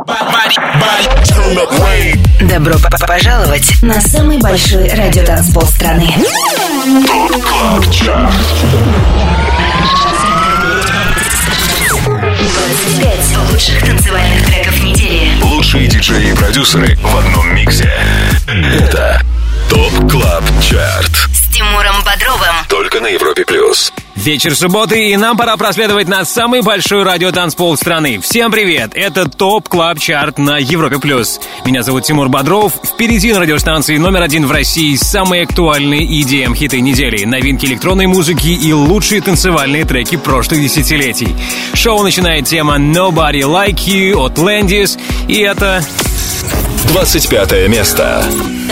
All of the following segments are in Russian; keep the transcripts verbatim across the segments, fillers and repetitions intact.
Добро пожаловать на самый большой радиотанцпол страны. двадцать пять лучших танцевальных треков недели. Лучшие диджеи и продюсеры в одном миксе. Это ТОП Клаб Чарт С Тимуром Бодровым. Только на Европе Плюс. Вечер субботы, и нам пора проследовать на самый большой радиотанцпол страны. Всем привет! Это ТОП Клаб Чарт на Европе Плюс. Меня зовут Тимур Бодров. Впереди на радиостанции номер один в России самые актуальные и ди эм-хиты недели, новинки электронной музыки и лучшие танцевальные треки прошлых десятилетий. Шоу начинает тема Nobody Like You от Landis, и это... двадцать пятое место.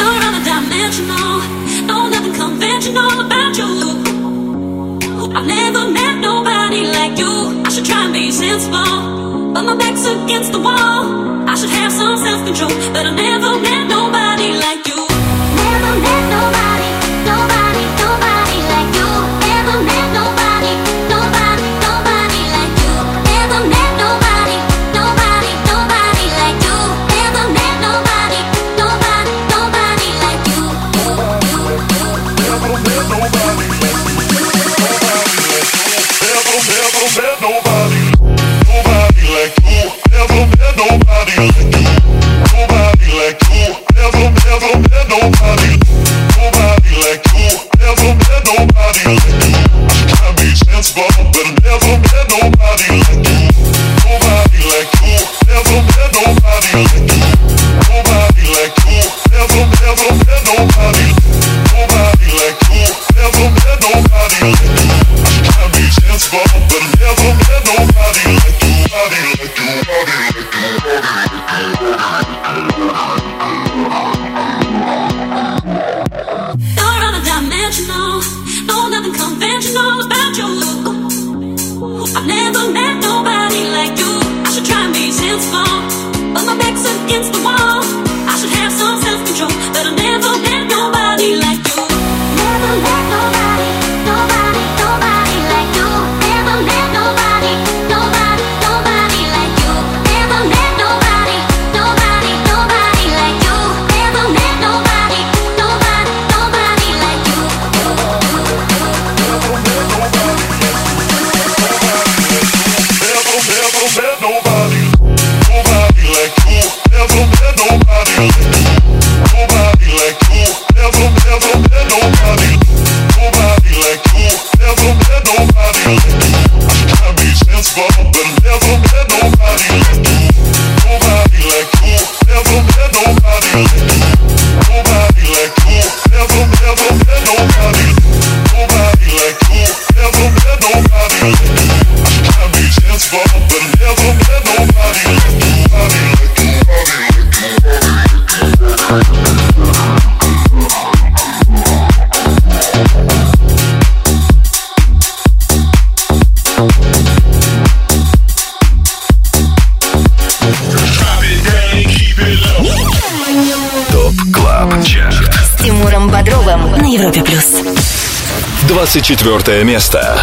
I've never met nobody like you. I should try and be sensible, but my back's against the wall. I should have some self-control, but I've never met nobody like you. Never met nobody, nobody, nobody like you. Never met nobody, nobody, nobody like you. Never met nobody, nobody, nobody like you. Never met nobody, nobody, nobody like you. Never met nobody. Never met nobody, nobody like you. Never met nobody like you. Nobody like you. Never, never met nobody. Nobody like you. Never met nobody like you. I should try and be sensible, but I never met nobody like you. Nobody like you. Never met nobody like you. Nobody like you. Never, never met nobody. Nobody like you. Never met nobody like you. I should try and be sensible, but I never met nobody like you. Nobody like you. Nobody like you. You're undimensional. No, nothing conventional about you. I've never met nobody like you. I should try and be sensible, but my back's against the wall. I should have some self-control, but I never met nobody like you. Never met nobody, nobody, nobody like you. Never met nobody, nobody, nobody like you. Never met nobody, nobody, nobody like you. Never met nobody, nobody, nobody like you. Never met nobody. Never, never met nobody. Nobody like you. Never met nobody like you. Nobody like you. Never, never met nobody. Nobody like you. Never met nobody like you. I should try and be sensible, but I never met nobody like you. Nobody like you. Never met nobody like you. Nobody like you. Never, never met nobody. Nobody like you. Never met nobody like you. I should try and be sensible, but I never met nobody like you. Nobody like you. Nobody like you. ТОП Клаб Чарт С Тимуром Бодровым на Европе Плюс. двадцать четвертое место.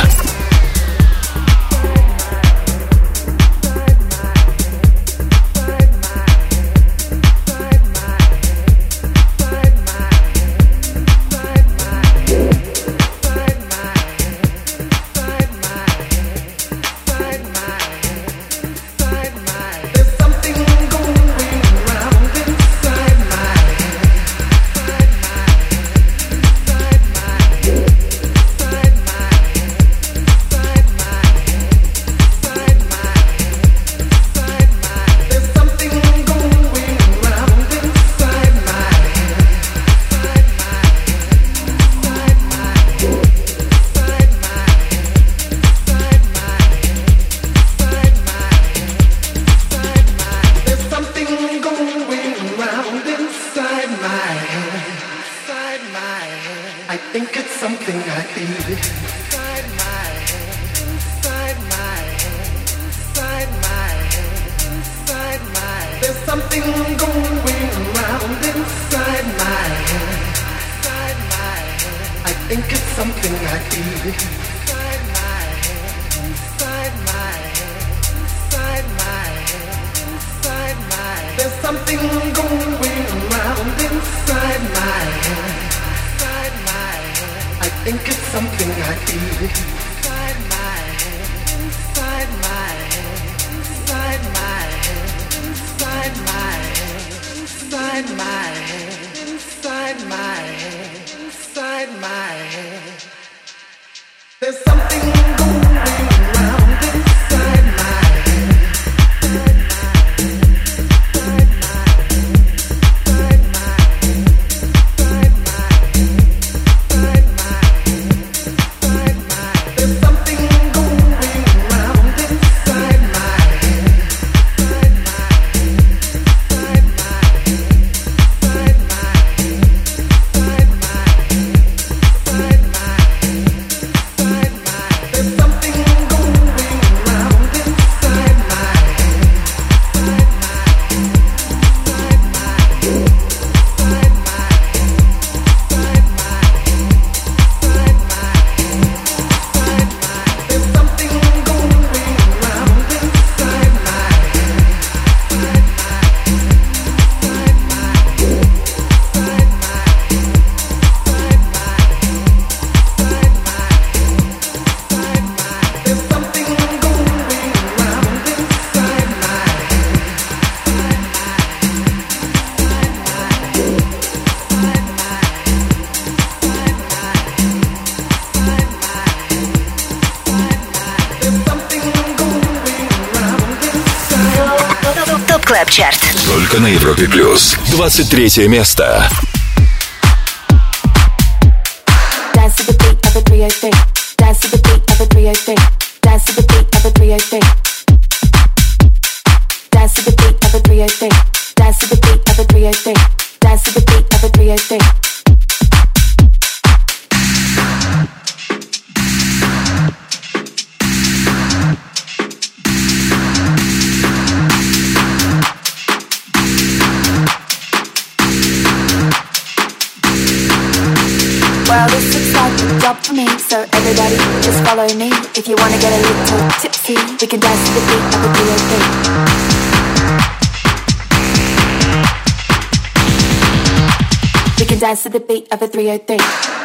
Inside my Клаб Чарт. Только на Европе Плюс. двадцать третье место. Dance to the beat of a three oh three. Dance to the beat of a three oh three. Dance to the beat of a three oh three. Dance to the beat of a three oh three. Dance to the beat of a three oh three. Dance to the beat of a three oh three. Well, this looks like a job for me, so everybody just follow me. If you wanna get a little tipsy, we can dance to the beat of a three oh three. We can dance to the beat of a three oh three.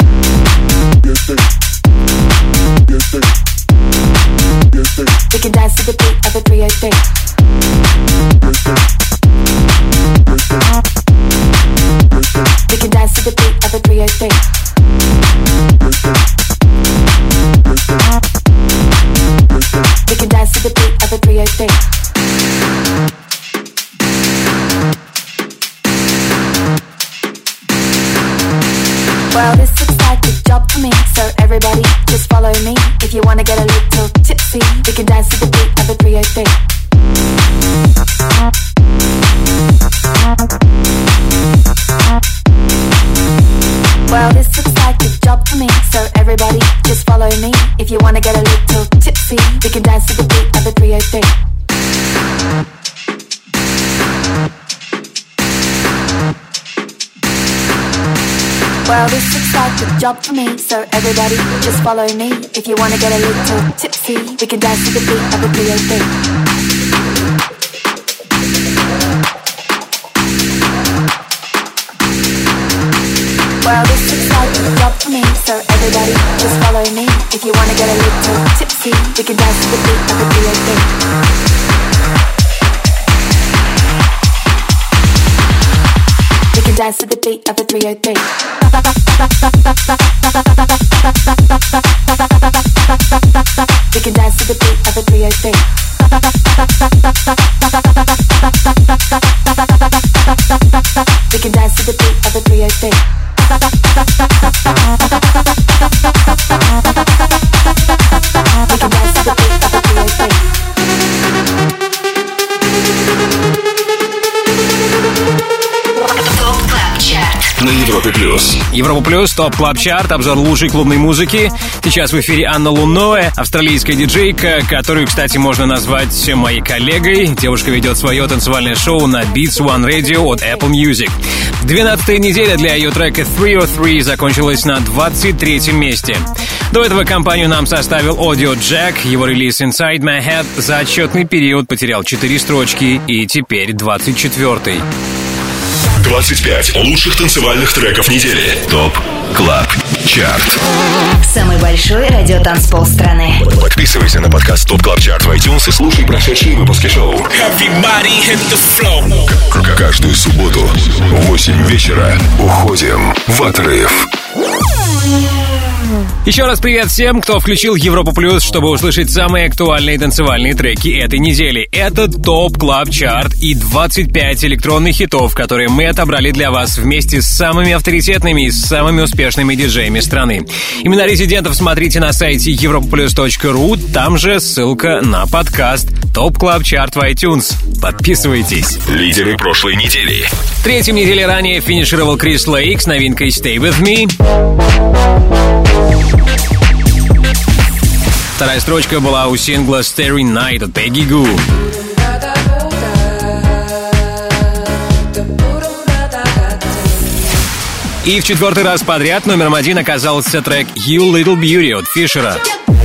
We can dance to the beat of a three oh three. We can dance to the beat of a three oh three. We can dance to the beat of a three oh three. Well, this looks like a job for me, so everybody just follow me. If you wanna get a little tipsy, we can dance to the beat of a three oh three. Well, this looks like a job for me, so everybody just follow me. If you wanna get a little tipsy, we can dance to the beat of a three oh three. Well, this looks like a job for me, so everybody just follow me. If you wanna get a little tipsy, we can dance to the beat of a three oh three. Well, this looks like a job for me, so everybody just follow me. If you wanna get a little tipsy, we can dance to the beat of a three oh three. We can dance to the beat of a three oh three. We can dance to the beat of a three oh three. We can dance to the beat of a three oh three. We can dance to the beat of a three oh three. Топ Клаб Чарт. на Европе плюс. Европа плюс, топ клаб чарт, обзор лучшей клубной музыки. Сейчас в эфире Анна Луноэ, австралийская диджейка, которую, кстати, можно назвать моей коллегой. Девушка ведет свое танцевальное шоу на Beats One Radio от Apple Music. двенадцатая неделя для ее трека три о три закончилась на двадцать третьем месте. До этого компанию нам составил Audio Jack. Его релиз Inside My Head за отчетный период потерял четыре строчки и теперь двадцать четвёртый. двадцать пять лучших танцевальных треков недели. Топ Клаб Чарт. Самый большой радиотанцпол страны. Подписывайся на подкаст Топ Клаб Чарт в iTunes и слушай прошедшие выпуски шоу. К- Каждую субботу в восемь вечера уходим в отрыв. Еще раз привет всем, кто включил Европу Плюс, чтобы услышать самые актуальные танцевальные треки этой недели. Это ТОП Клаб Чарт и двадцать пять электронных хитов, которые мы отобрали для вас вместе с самыми авторитетными и самыми успешными диджеями страны. Имена резидентов смотрите на сайте европа плюс точка ру, там же ссылка на подкаст ТОП Клаб Чарт в iTunes. Подписывайтесь. Лидеры прошлой недели. В третьем неделе ранее финишировал Крис Лейк с новинкой Stay With Me. Вторая строчка была у сингла Starry Night от Peggy Gou. И в четвертый раз подряд номером один оказался трек You Little Beauty от Фишера.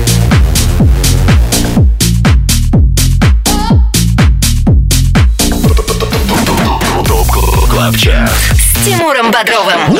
Топ Клаб Чарт. С Тимуром Бодровым.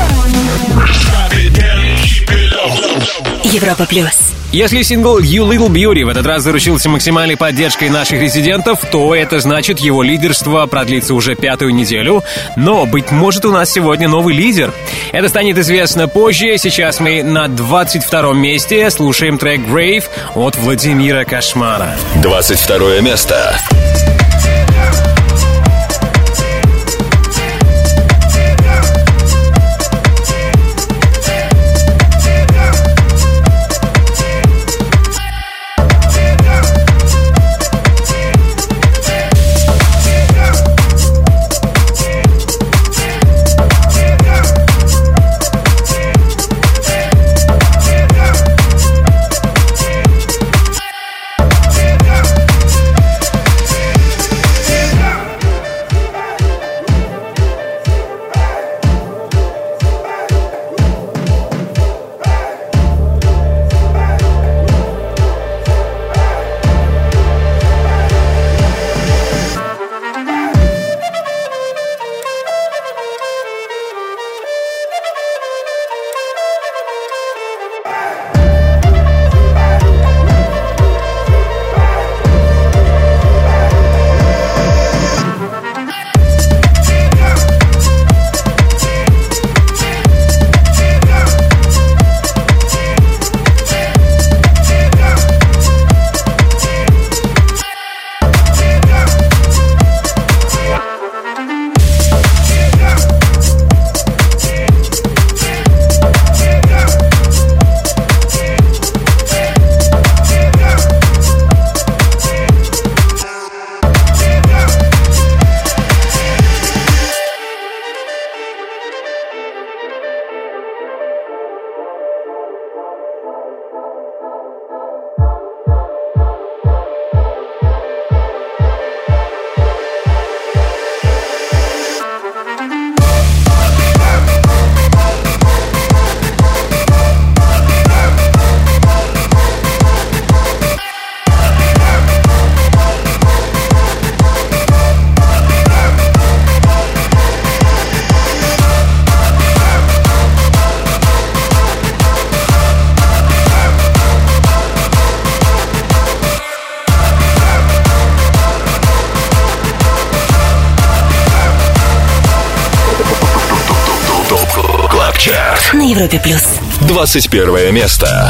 Европа плюс. Если сингл You Little Beauty в этот раз заручился максимальной поддержкой наших резидентов, то это значит, его лидерство продлится уже пятую неделю. Но, быть может, у нас сегодня новый лидер. Это станет известно позже. Сейчас мы на двадцать втором месте слушаем трек Grave от Владимира Кошмара. двадцать второе место. На Европе плюс. двадцать первое место.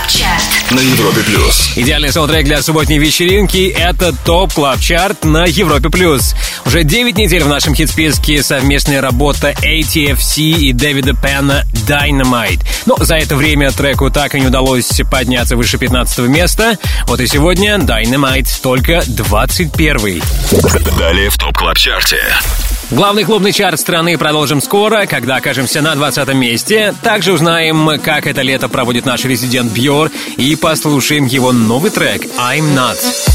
Чарт на Европе плюс. Идеальный саундтрек для субботней вечеринки — это ТОП Клаб Чарт на Европе плюс. Уже девять недель в нашем хит-списке совместная работа эй ти эф си и Дэвида Пенна «Dynamite». Но за это время треку так и не удалось подняться выше пятнадцатого места. Вот и сегодня «Dynamite» только двадцать первый. Далее в ТОП Клаб Чарте. Главный клубный чарт страны продолжим скоро, когда окажемся на двадцатом месте. Также узнаем, как это лето проводит наш резидент Бьор, и послушаем его новый трек «I'm Not».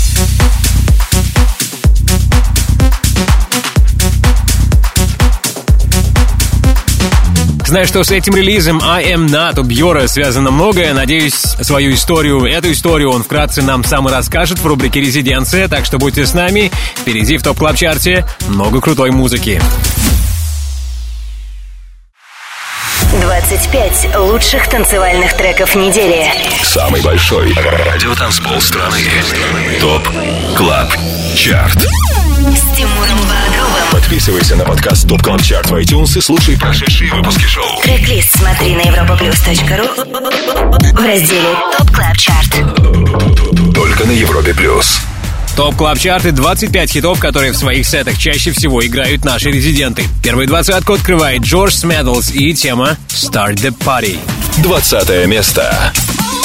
Знаю, что с этим релизом I Am Not у Бьора связано многое. Надеюсь, свою историю, эту историю он вкратце нам сам и расскажет в рубрике «Резиденция». Так что будьте с нами. Впереди в ТОП Клаб Чарте много крутой музыки. двадцать пять лучших танцевальных треков недели. Самый большой радиотанцпол страны. ТОП Клаб Чарт. С Тимуром Бодровым. Подписывайся на подкаст ТОП Клаб Чарт в iTunes и слушай прошедшие выпуски шоу. Трек-лист смотри на европаплюс точка ру в разделе ТОП Клаб Чарт. Только на Европе плюс. ТОП Клаб Чарты — двадцать пять хитов, которые в своих сетах чаще всего играют наши резиденты. Первую двадцатку открывает Джордж Смэдлс и тема «Start the Party». Двадцатое место.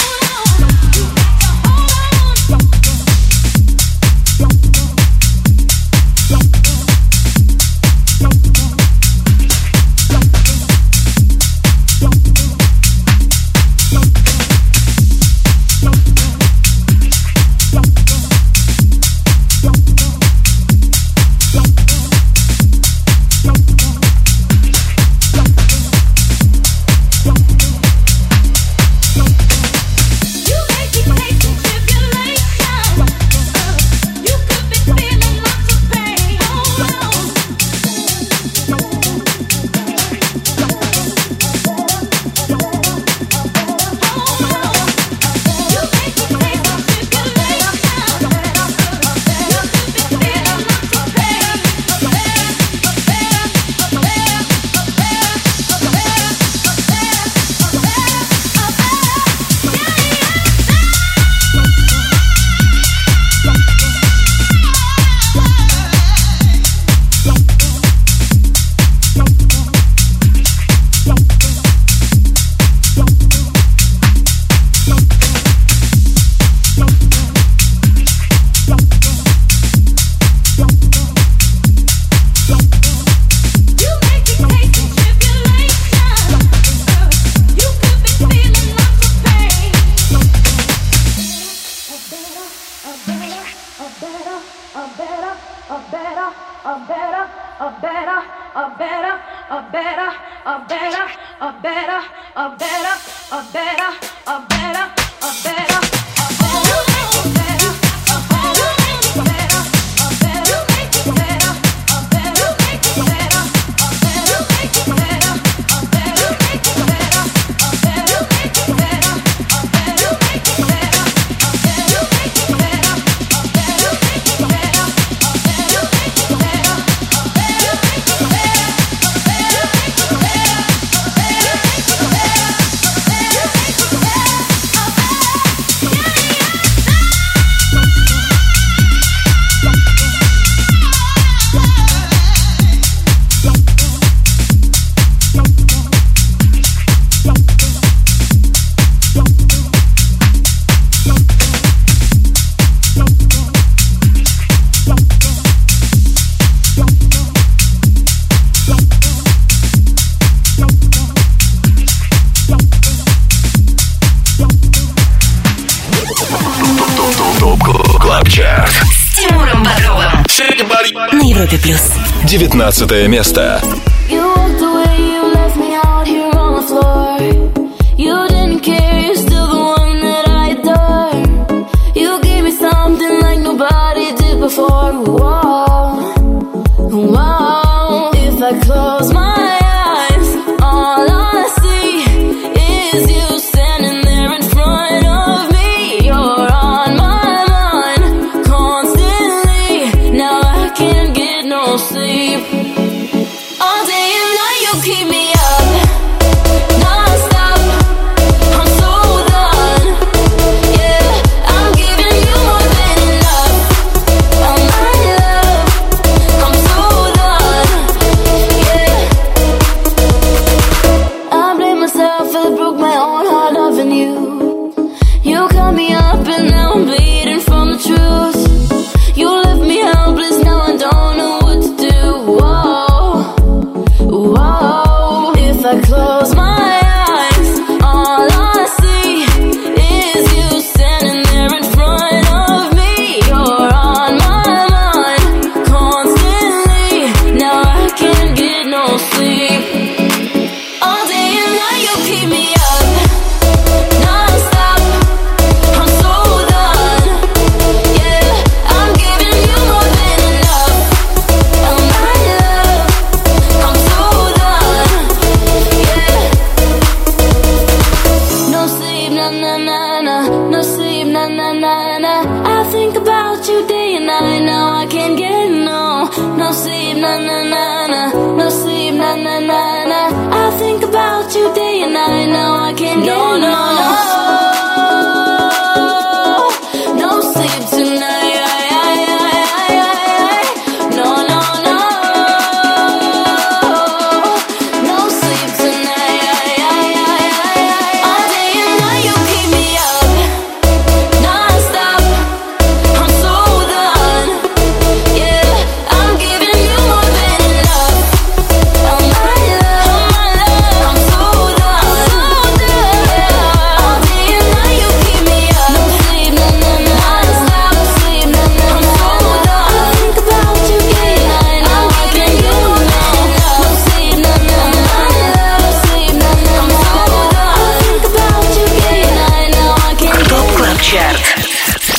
На Европе плюс. Девятнадцатое место. Keep me up, non-stop. I'm so done.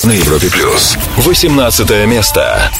на Европе плюс. восемнадцатое место.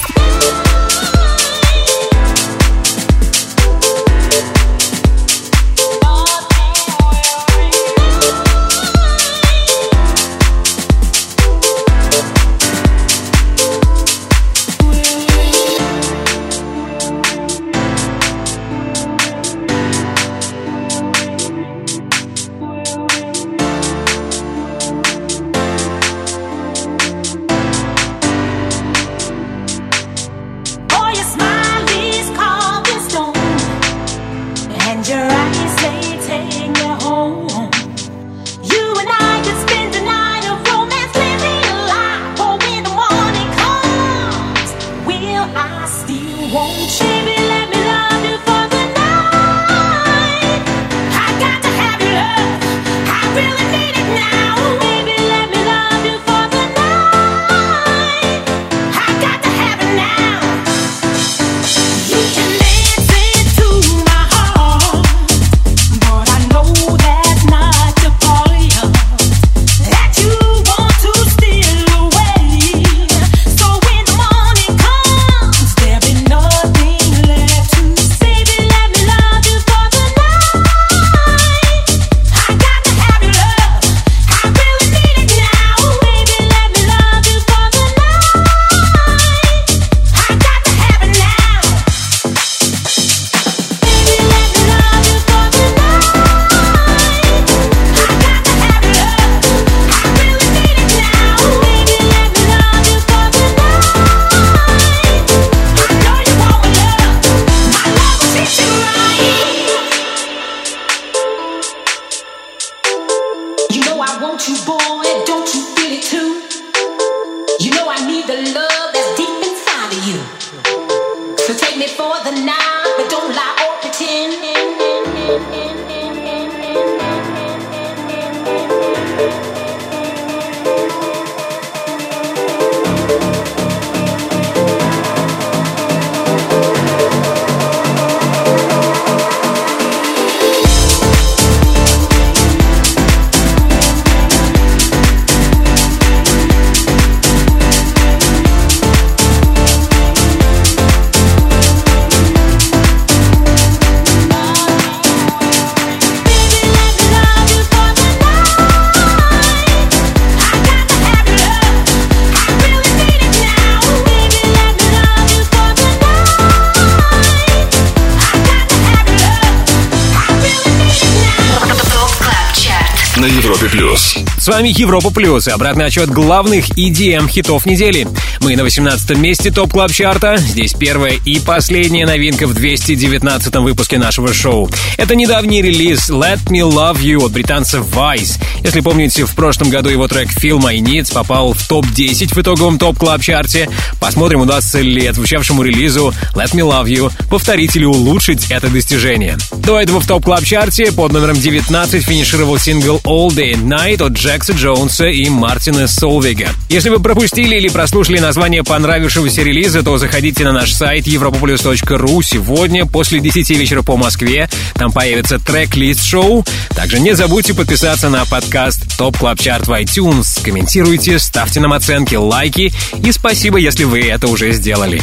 На Европе плюс. С вами Европа плюс и обратный отчет главных и ди эм-хитов недели. Мы на восемнадцатом месте ТОП Клаб Чарта. Здесь первая и последняя новинка в двести девятнадцатом выпуске нашего шоу. Это недавний релиз Let Me Love You от британца Vice. Если помните, в прошлом году его трек Feel My Needs попал в топ десять в итоговом ТОП Клаб Чарте. Посмотрим, удастся ли отзвучавшему релизу Let Me Love You повторить или улучшить это достижение. До этого в ТОП Клаб Чарте под номером девятнадцать финишировал сингл All Day and Night от Джекса Джонса и Мартина Солвига. Если вы пропустили или прослушали название понравившегося релиза, то заходите на наш сайт европа плюс точка ру. Сегодня после десяти вечера по Москве там появится трек-лист шоу. Также не забудьте подписаться на подкаст Топ Клаб Чарт в iTunes. Комментируйте, ставьте нам оценки, лайки. И спасибо, если вы это уже сделали.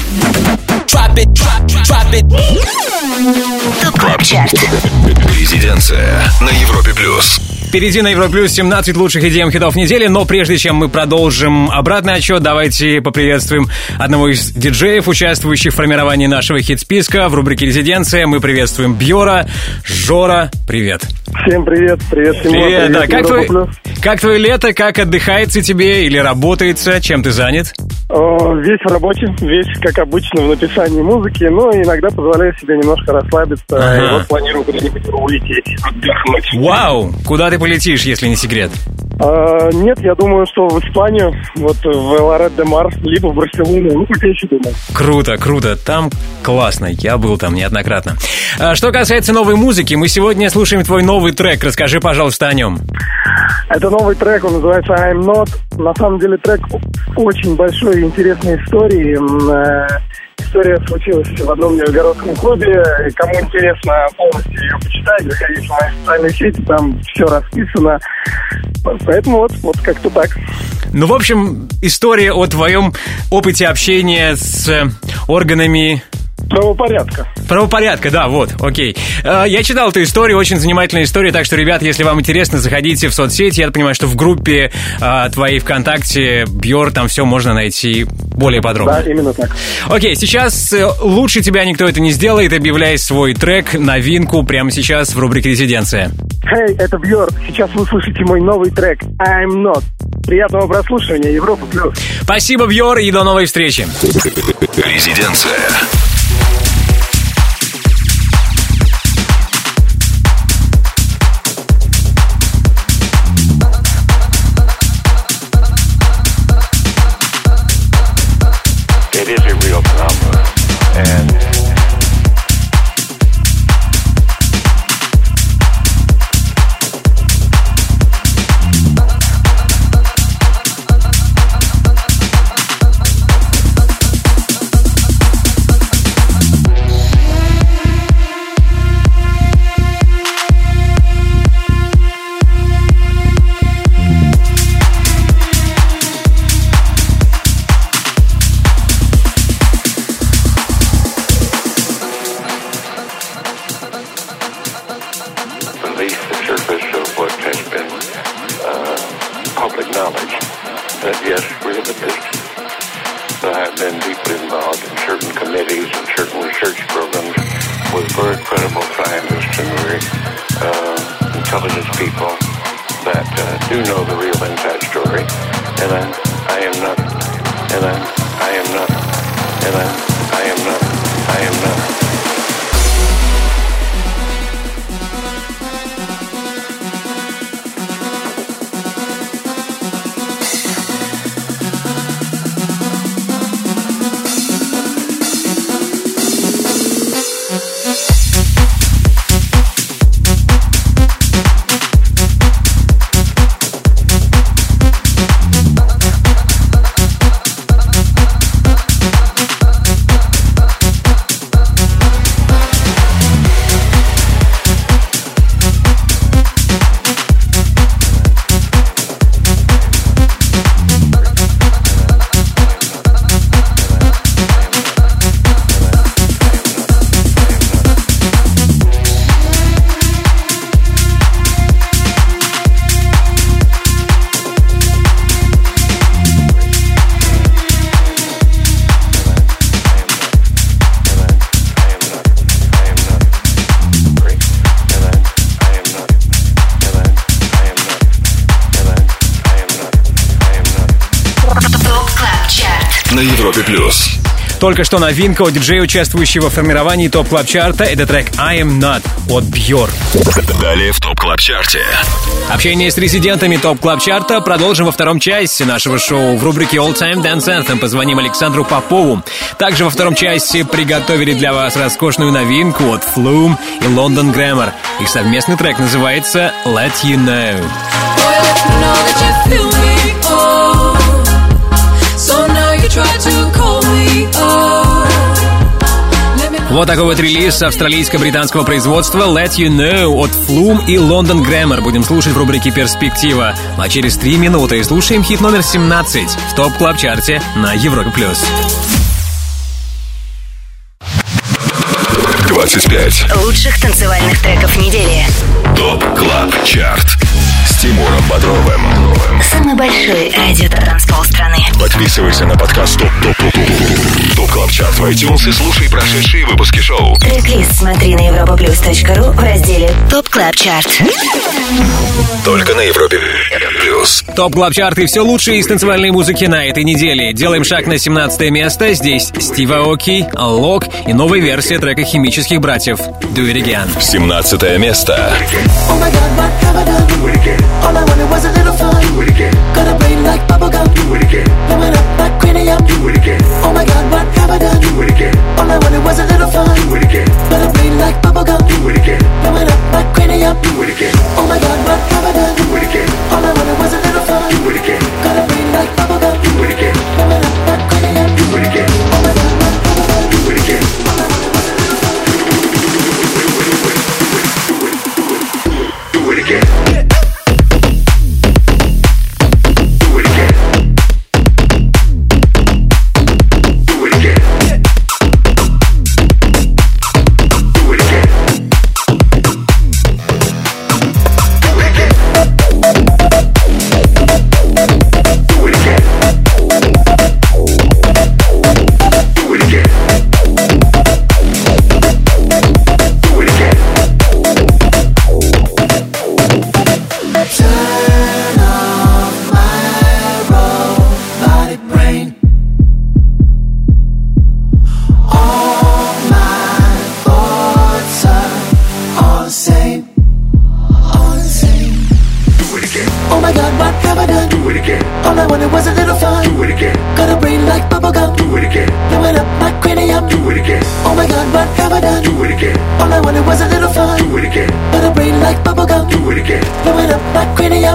Топ Клаб Чарт. Резиденция на Европе плюс. Впереди на Европе плюс семнадцать лучших и ди эм-хитов недели, но прежде чем мы продолжим обратный отчет, давайте поприветствуем одного из диджеев, участвующих в формировании нашего хит-списка. В рубрике «Резиденция» мы приветствуем Бьора. Жора, привет. Всем привет, привет, Тимур. Привет, привет, да. Как, твой, как твое лето, как отдыхается тебе или работается, чем ты занят? О, весь в работе, весь, как обычно, в написании музыки, но иногда позволяю себе немножко расслабиться, ага. И вот планирую куда-нибудь улететь, отдохнуть. Вау! Куда ты полетишь, если не секрет? А, нет, я думаю, что в Испанию, вот в Лорет-де-Мар, либо в Барселону, ну, пока еще думаю. Круто, круто, там классно, я был там неоднократно. А, что касается новой музыки, мы сегодня слушаем твой новый трек, расскажи, пожалуйста, о нем. Это новый трек, он называется I'm Not. На самом деле трек очень большой и интересной истории. История случилась в одном нижегородском клубе. Кому интересно полностью ее почитать, заходите в мои социальные сети, там все расписано. Поэтому вот, вот как-то так. Ну, в общем, история о твоем опыте общения с органами... Правопорядка. Правопорядка, да, вот, окей. Я читал эту историю, очень занимательная история, так что, ребят, если вам интересно, заходите в соцсети. Я понимаю, что в группе а, твоей ВКонтакте, Бьор, там все можно найти более подробно. Да, именно так. Окей, сейчас лучше тебя никто это не сделает. Объявляй свой трек, новинку прямо сейчас в рубрике «Резиденция». Хей, hey, это Бьор. Сейчас вы слышите мой новый трек «I'm Not». Приятного прослушивания, Европа Плюс. Спасибо, Бьор, и до новой встречи. Резиденция. It is a real phenomenon, and на Европе плюс. Только что новинка от диджея, участвующего в формировании ТОП Клаб Чарта. Это трек I Am Not от Бьор. Далее в ТОП Клаб Чарте. Общение с резидентами ТОП Клаб Чарта продолжим во втором части нашего шоу в рубрике All Time Dance Anthem. Позвоним Александру Попову. Также во втором части приготовили для вас роскошную новинку от Flume и London Grammar. Их совместный трек называется Let You Know. Вот такой вот релиз австралийско-британского производства Let You Know от Flume и London Grammar. Будем слушать в рубрике «Перспектива». А через три минуты слушаем хит номер семнадцать в ТОП Клаб Чарте на Европе плюс. двадцать пять лучших танцевальных треков недели. ТОП Клаб Чарт с Тимуром Бодровым. Самый большой радиотанцпол страны. Подписывайся на подкаст ТОП ТОП ТОП ТОП Клаб Чарт в iTunes и слушай прошедшие выпуски шоу. Трек-лист смотри на европаплюс точка ру в разделе ТОП Клаб Чарт. Только на Европе плюс. ТОП Клаб Чарт и все лучшее из танцевальной музыки на этой неделе. Делаем шаг на семнадцатое место. Здесь Стив Аоки, Лок и новая версия трека химических братьев Do It Again. семнадцатое место. All I wanted was a little fun. Do it again. Got a brain like bubblegum. Do it again. Blowing up like cranium. Do it again. Oh my God, what have I done? Do it again. All I wanted was a little fun. Do it again. Got a brain like bubblegum. Do it again. Blowing up like cranium. Do it again. Oh my God, what have I done? Do it again. All I wanted was a little fun. Do it again. Got a brain like bubblegum. Do it again. Blowing up like cranium. Do it again. Oh my God, what have I done? Do it again. All I wanted was a little fun. Do it again.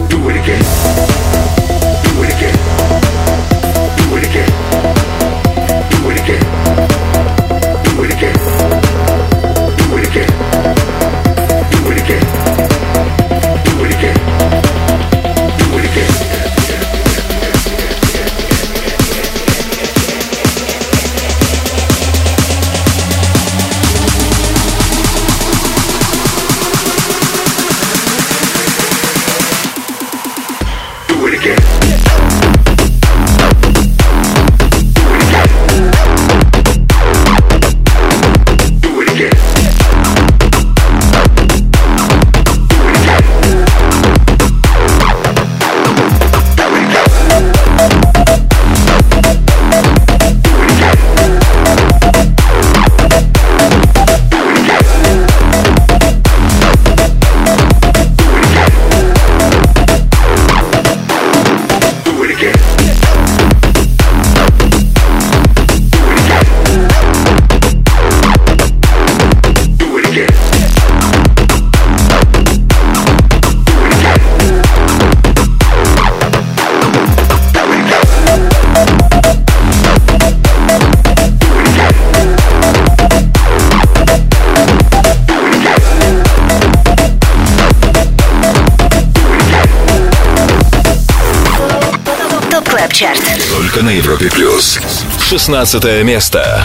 up. Do it again. Do it again. Do it again. Do it again. Do it again. Do it again. Do it again. Do it again. Do it again. Только на Европе плюс. шестнадцатое место.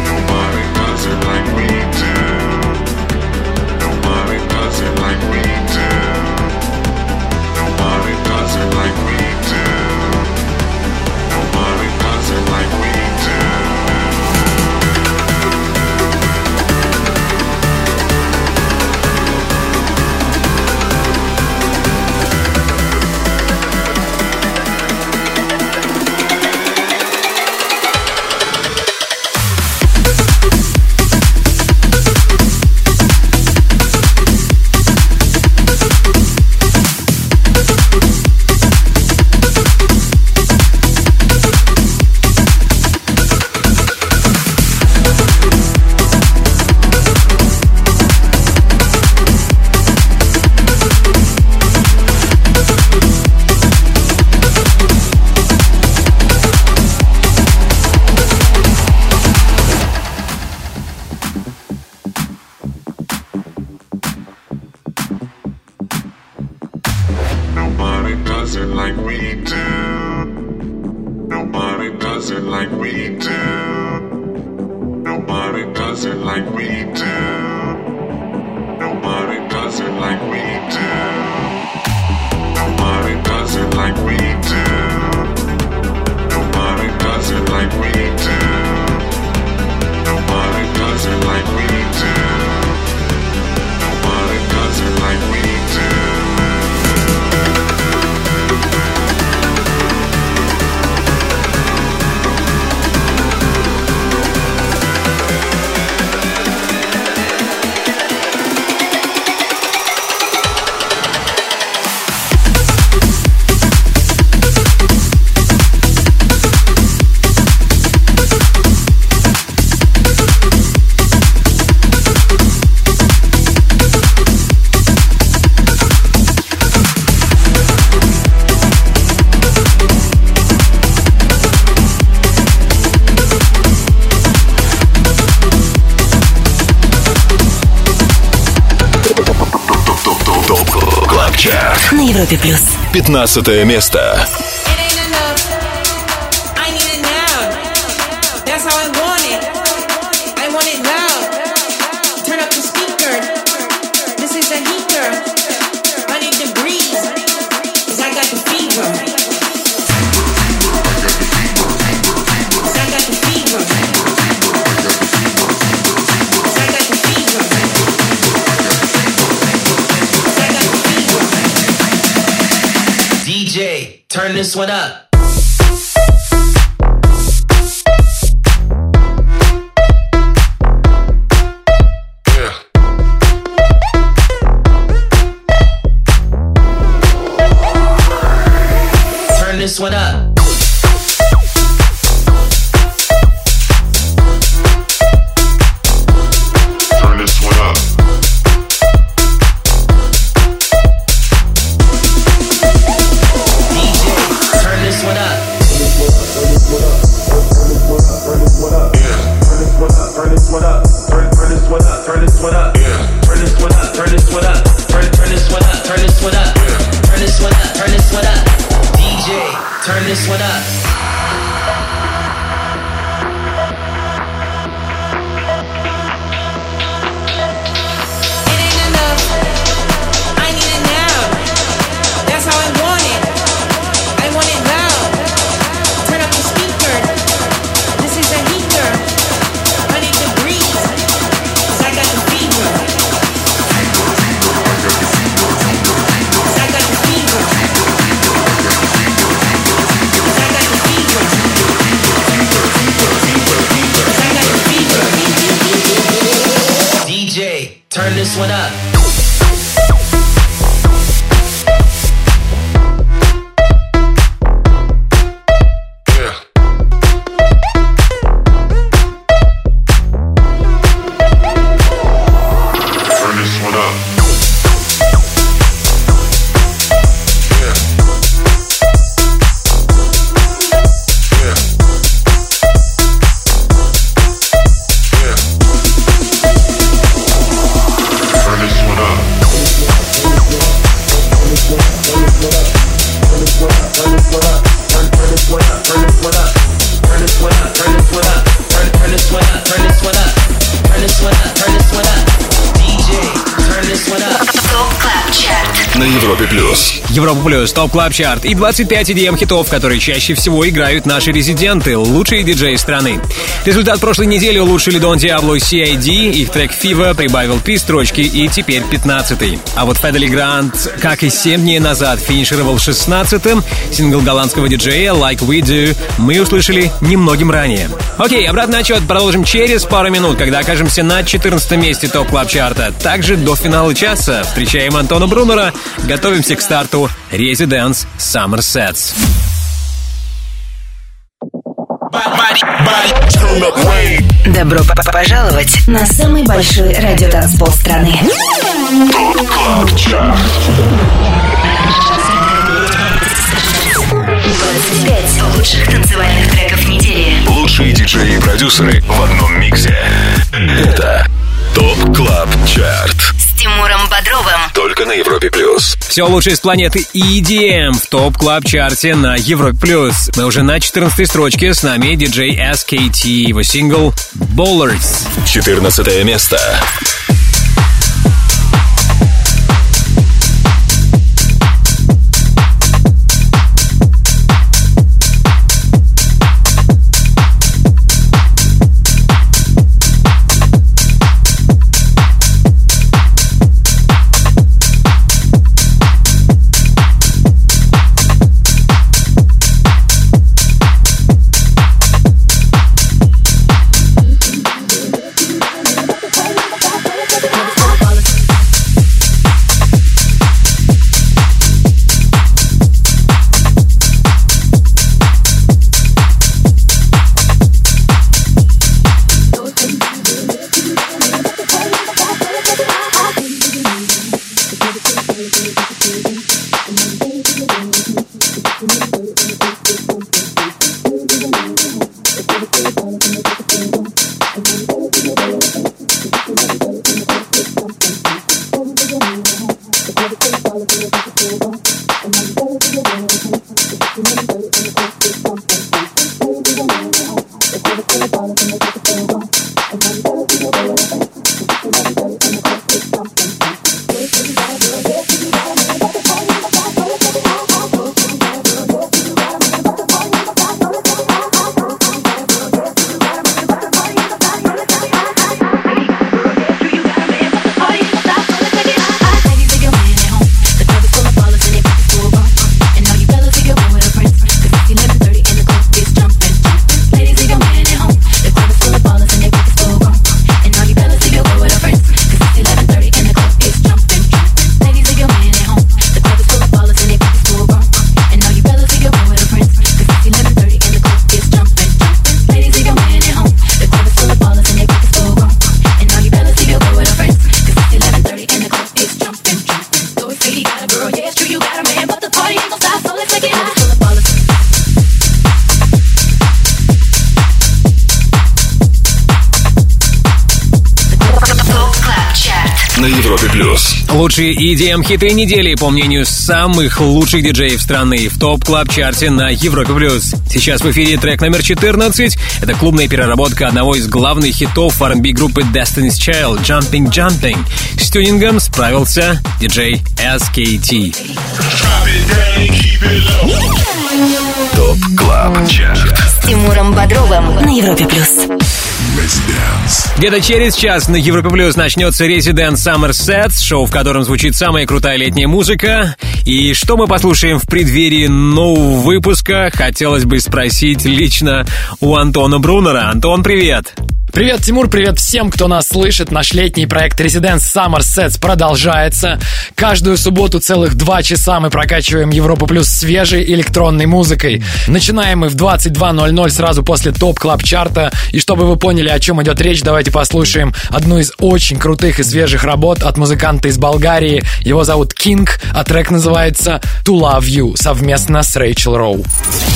На Европе плюс. пятнадцатое место. Turn this one up. Yeah. Turn this one up. turn this one up. Turn this one up. Европа Плюс, Топ Клаб Чарт и двадцать пять и ди эм хитов, которые чаще всего играют наши резиденты, лучшие диджеи страны. Результат прошлой недели улучшили Don Diablo и си ай ди, их трек Fever прибавил три строчки и теперь пятнадцатый. А вот Федели Грант, как и семь дней назад, финишировал шестнадцатым. Сингл голландского диджея Like We Do мы услышали немногим ранее. Окей, обратный отчет продолжим через пару минут, когда окажемся на четырнадцатом месте Топ Клаб Чарта. Также до финала часа встречаем Антона Брунера, готовимся к старту Residence Summer Sets. Добро пожаловать на самый большой радиотанцпол страны. двадцать пять лучших танцевальных треков недели. Лучшие диджеи и продюсеры в одном миксе. Это ТОП Клаб Чарт С Тимуром Бодровым. Только на Европе Плюс. Все лучшее с планеты и ди эм в Топ Клаб Чарте на Европе Плюс. Мы уже на четырнадцатой строчке. С нами диджей эс кей ти, его сингл Ballers. четырнадцатое место. Baby, take your man at home. The club is full of ballers and на Европе плюс. Лучшие и ди эм-хиты недели, по мнению самых лучших диджеев страны, в ТОП Клаб Чарте на Европе плюс. Сейчас в эфире трек номер четырнадцать. Это клубная переработка одного из главных хитов ар энд би группы Destiny's Child, Jumping Jumping. С тюнингом справился диджей эс кей ти. ТОП Клаб Чарт С Тимуром Бодровым на Европе плюс. Где-то через час на Европе плюс начнется Resident Summer Sets, шоу, в котором звучит самая крутая летняя музыка. И что мы послушаем в преддверии нового выпуска, хотелось бы спросить лично у Антона Брунера. Антон, привет! Привет, Тимур, привет всем, кто нас слышит. Наш летний проект Resident Summer Sets продолжается. Каждую субботу целых два часа мы прокачиваем Европу плюс свежей электронной музыкой. Начинаем мы в двадцать два ноль ноль сразу после ТОП Клаб Чарта. И чтобы вы поняли, о чем идет речь, давайте послушаем одну из очень крутых и свежих работ от музыканта из Болгарии. Его зовут King, а трек называется To Love You совместно с Рэйчел Роу.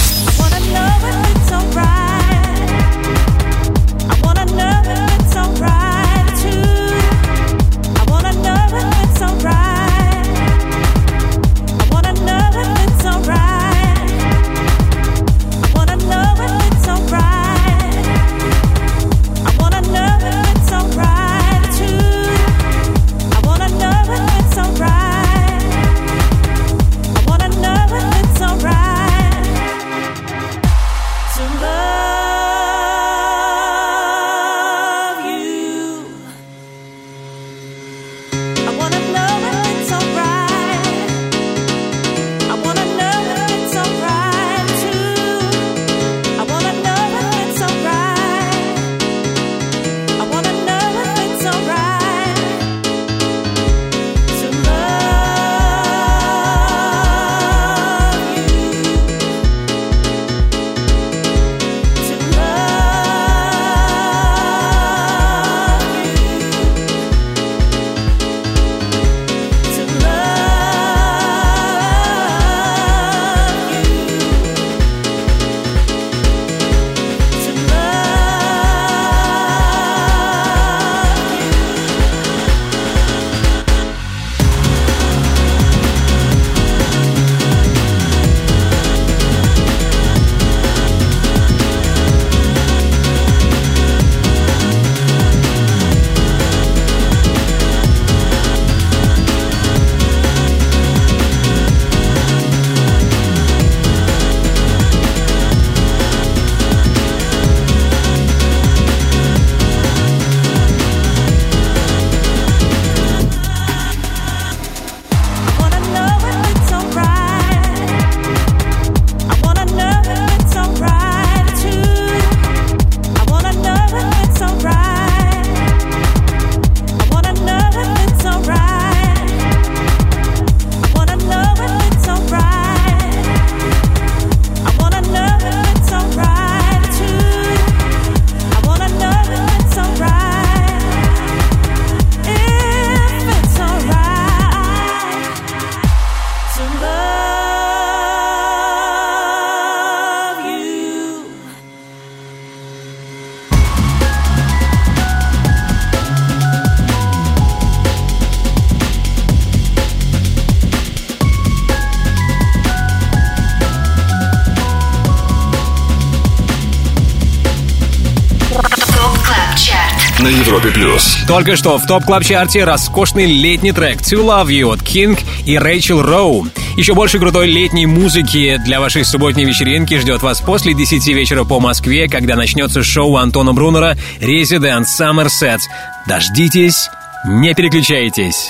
на Европе плюс. Только что в ТОП Клаб Чарте роскошный летний трек To Love You от King и Рэйчел Роу. Еще больше крутой летней музыки для вашей субботней вечеринки ждет вас после десяти вечера по Москве, когда начнется шоу Антона Брунера Resident Summer Sets. Дождитесь, не переключайтесь.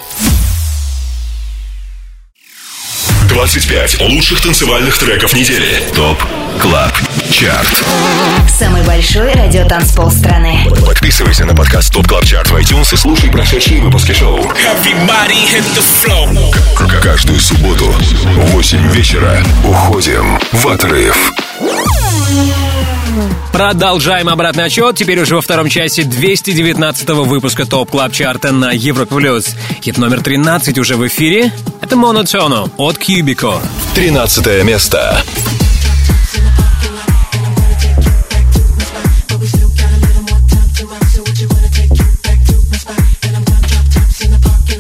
двадцать пять лучших танцевальных треков недели. ТОП Клаб Чарт. Самый большой радиотанцпол страны. Подписывайся на подкаст ТОП Клаб Чарт в iTunes и слушай прошедшие выпуски шоу. Каждую субботу в восемь вечера уходим в отрыв. Продолжаем обратный отчет. Теперь уже во втором часе двести девятнадцатого выпуска ТОП Клаб Чарта на Европе плюс. Хит номер тринадцать уже в эфире. Это Monotono от Cubico. тринадцатое место. But we still got a little more time to rock. So would you wanna take it back to my spot? And I'm gonna drop tops in the parking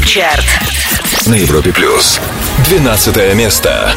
Чарт на Европе плюс. Двенадцатое место.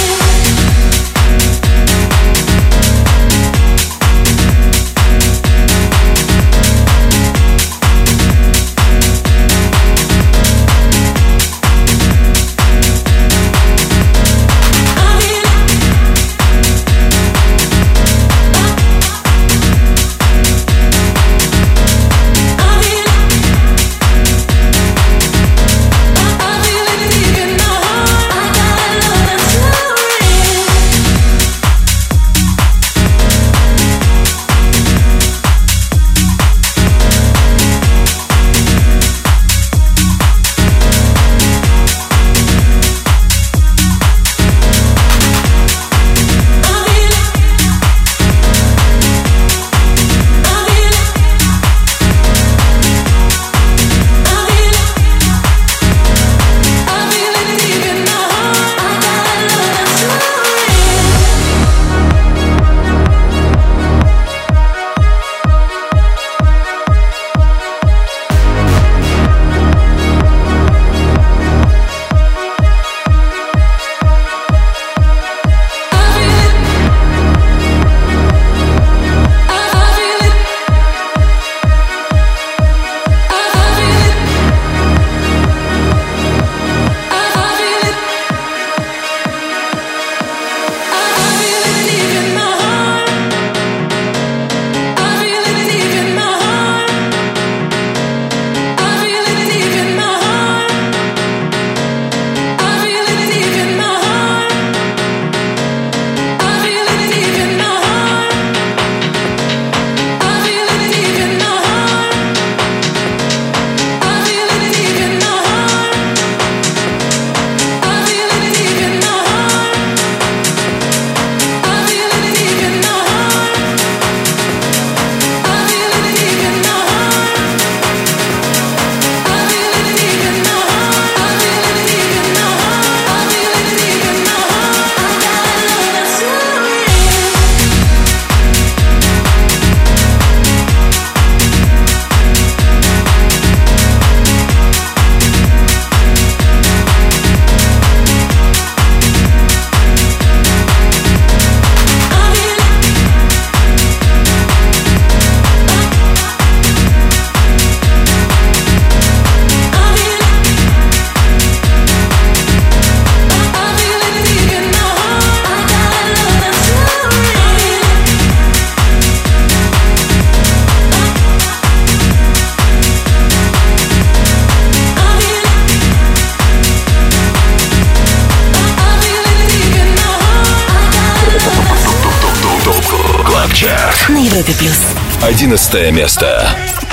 на Европе плюс. Одиннадцатое место.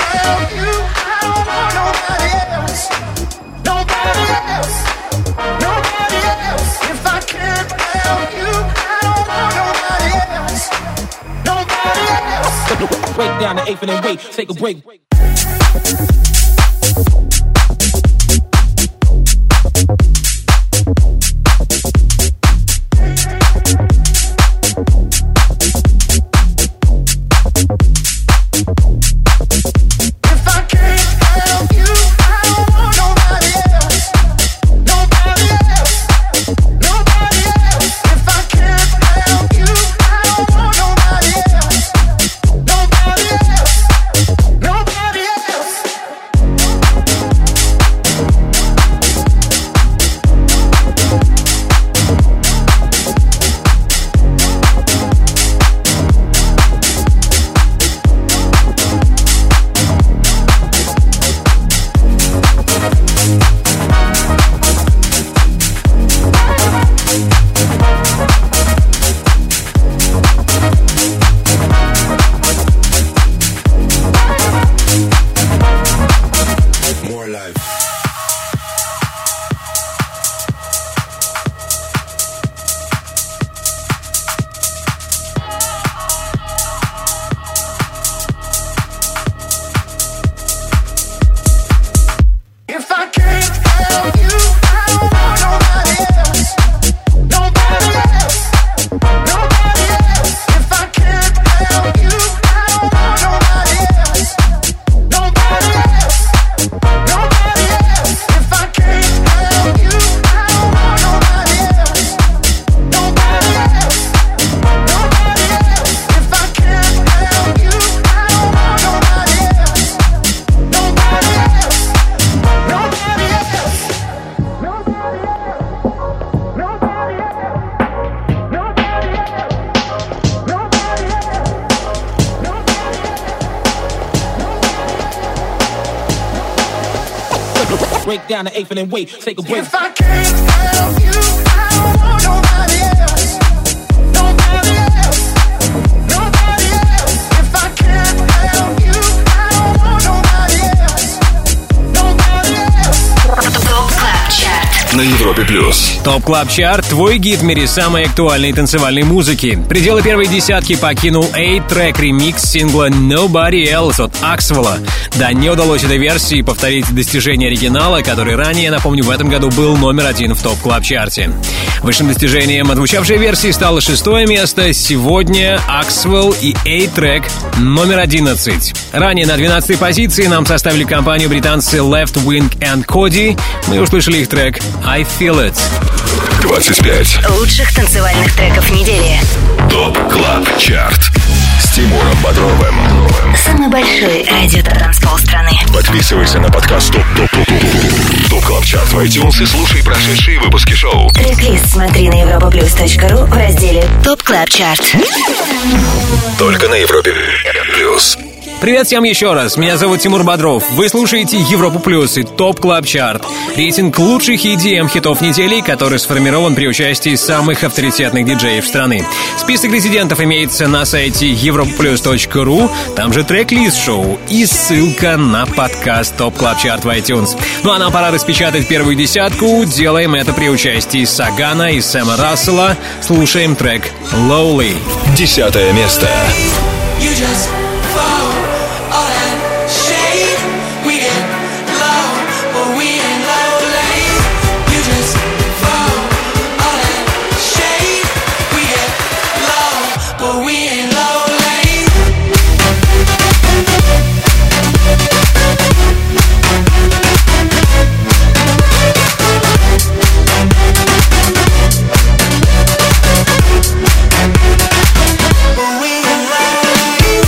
Break down the eighth and then wait, take a break. break down the eighth and then wait, take a break. If I can't have you, I don't want nobody else. Nobody else. Nobody else. If I can't have you, I don't want nobody else. Nobody else. Топ Клаб Чарт на Европе плюс. Топ Клаб Чарт — твой гид в мире самой актуальной танцевальной музыки. Пределы первой десятки покинул A-трек ремикс сингла Nobody Else от Axwell. Да, не удалось этой версии повторить достижение оригинала, который ранее, напомню, в этом году был номер один в Топ Клаб Чарте. Высшим достижением отзвучавшей версии стало шестое место. Сегодня Axwell и A-трек номер одиннадцать. Ранее на двенадцатой позиции нам составили компанию британцы Left Wing and Cody. Мы услышали их трек I Feel It. двадцать пять лучших танцевальных треков недели. Топ Клаб Чарт с Тимуром Бодровым. Самый большой радио-транспол страны. Подписывайся на подкаст Топ Топ Топ Топ Топ Клаб Чарт в iTunes и слушай прошедшие выпуски шоу. Трек-лист смотри на европаплюс точка ру в разделе Топ Клаб Чарт. Только на Европе плюс. Привет всем еще раз, меня зовут Тимур Бодров. Вы слушаете Европу Плюс и Топ Клаб Чарт. Рейтинг лучших и ди эм-хитов недели, который сформирован при участии самых авторитетных диджеев страны. Список резидентов имеется на сайте европаплюс точка ру, там же трек-лист шоу и ссылка на подкаст Топ Клаб Чарт в iTunes. Ну а нам пора распечатать первую десятку. Делаем это при участии Сагана и Сэма Рассела. Слушаем трек «Lowly». Десятое место. You just fall, all that shade. We get low, but we ain't lonely. You just fall, all that shade. We get low, but we ain't lonely. But we ain't lonely.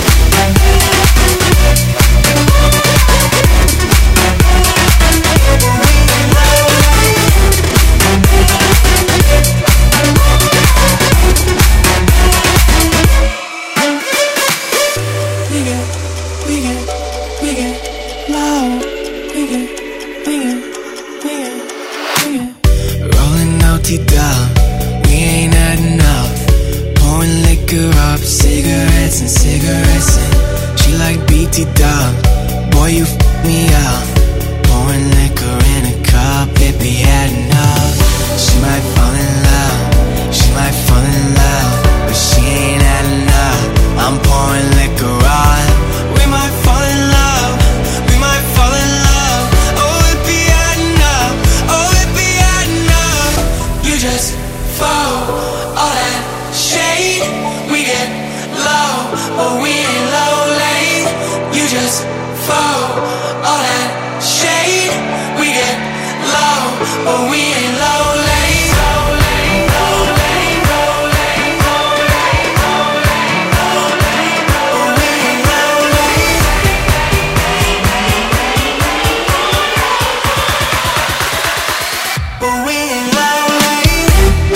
We get, we get, we get low. We get, we get, we get, we get. Rolling O T down, we ain't had enough. Pouring liquor up, cigarettes and cigarettes and she like B T dub. Boy, you f me up. Pouring liquor in a cup, it be had enough. She might fall in love, she might fall in love, but she ain't had enough. I'm pouring liquor on. We might fall in love, we might fall in love. Oh, it be had enough, oh, it be had enough. You just fall, all that shade. We get low, but we ain't lonely. You just fall, all that shade. We get low, but we ain't lonely. But we ain't lonely.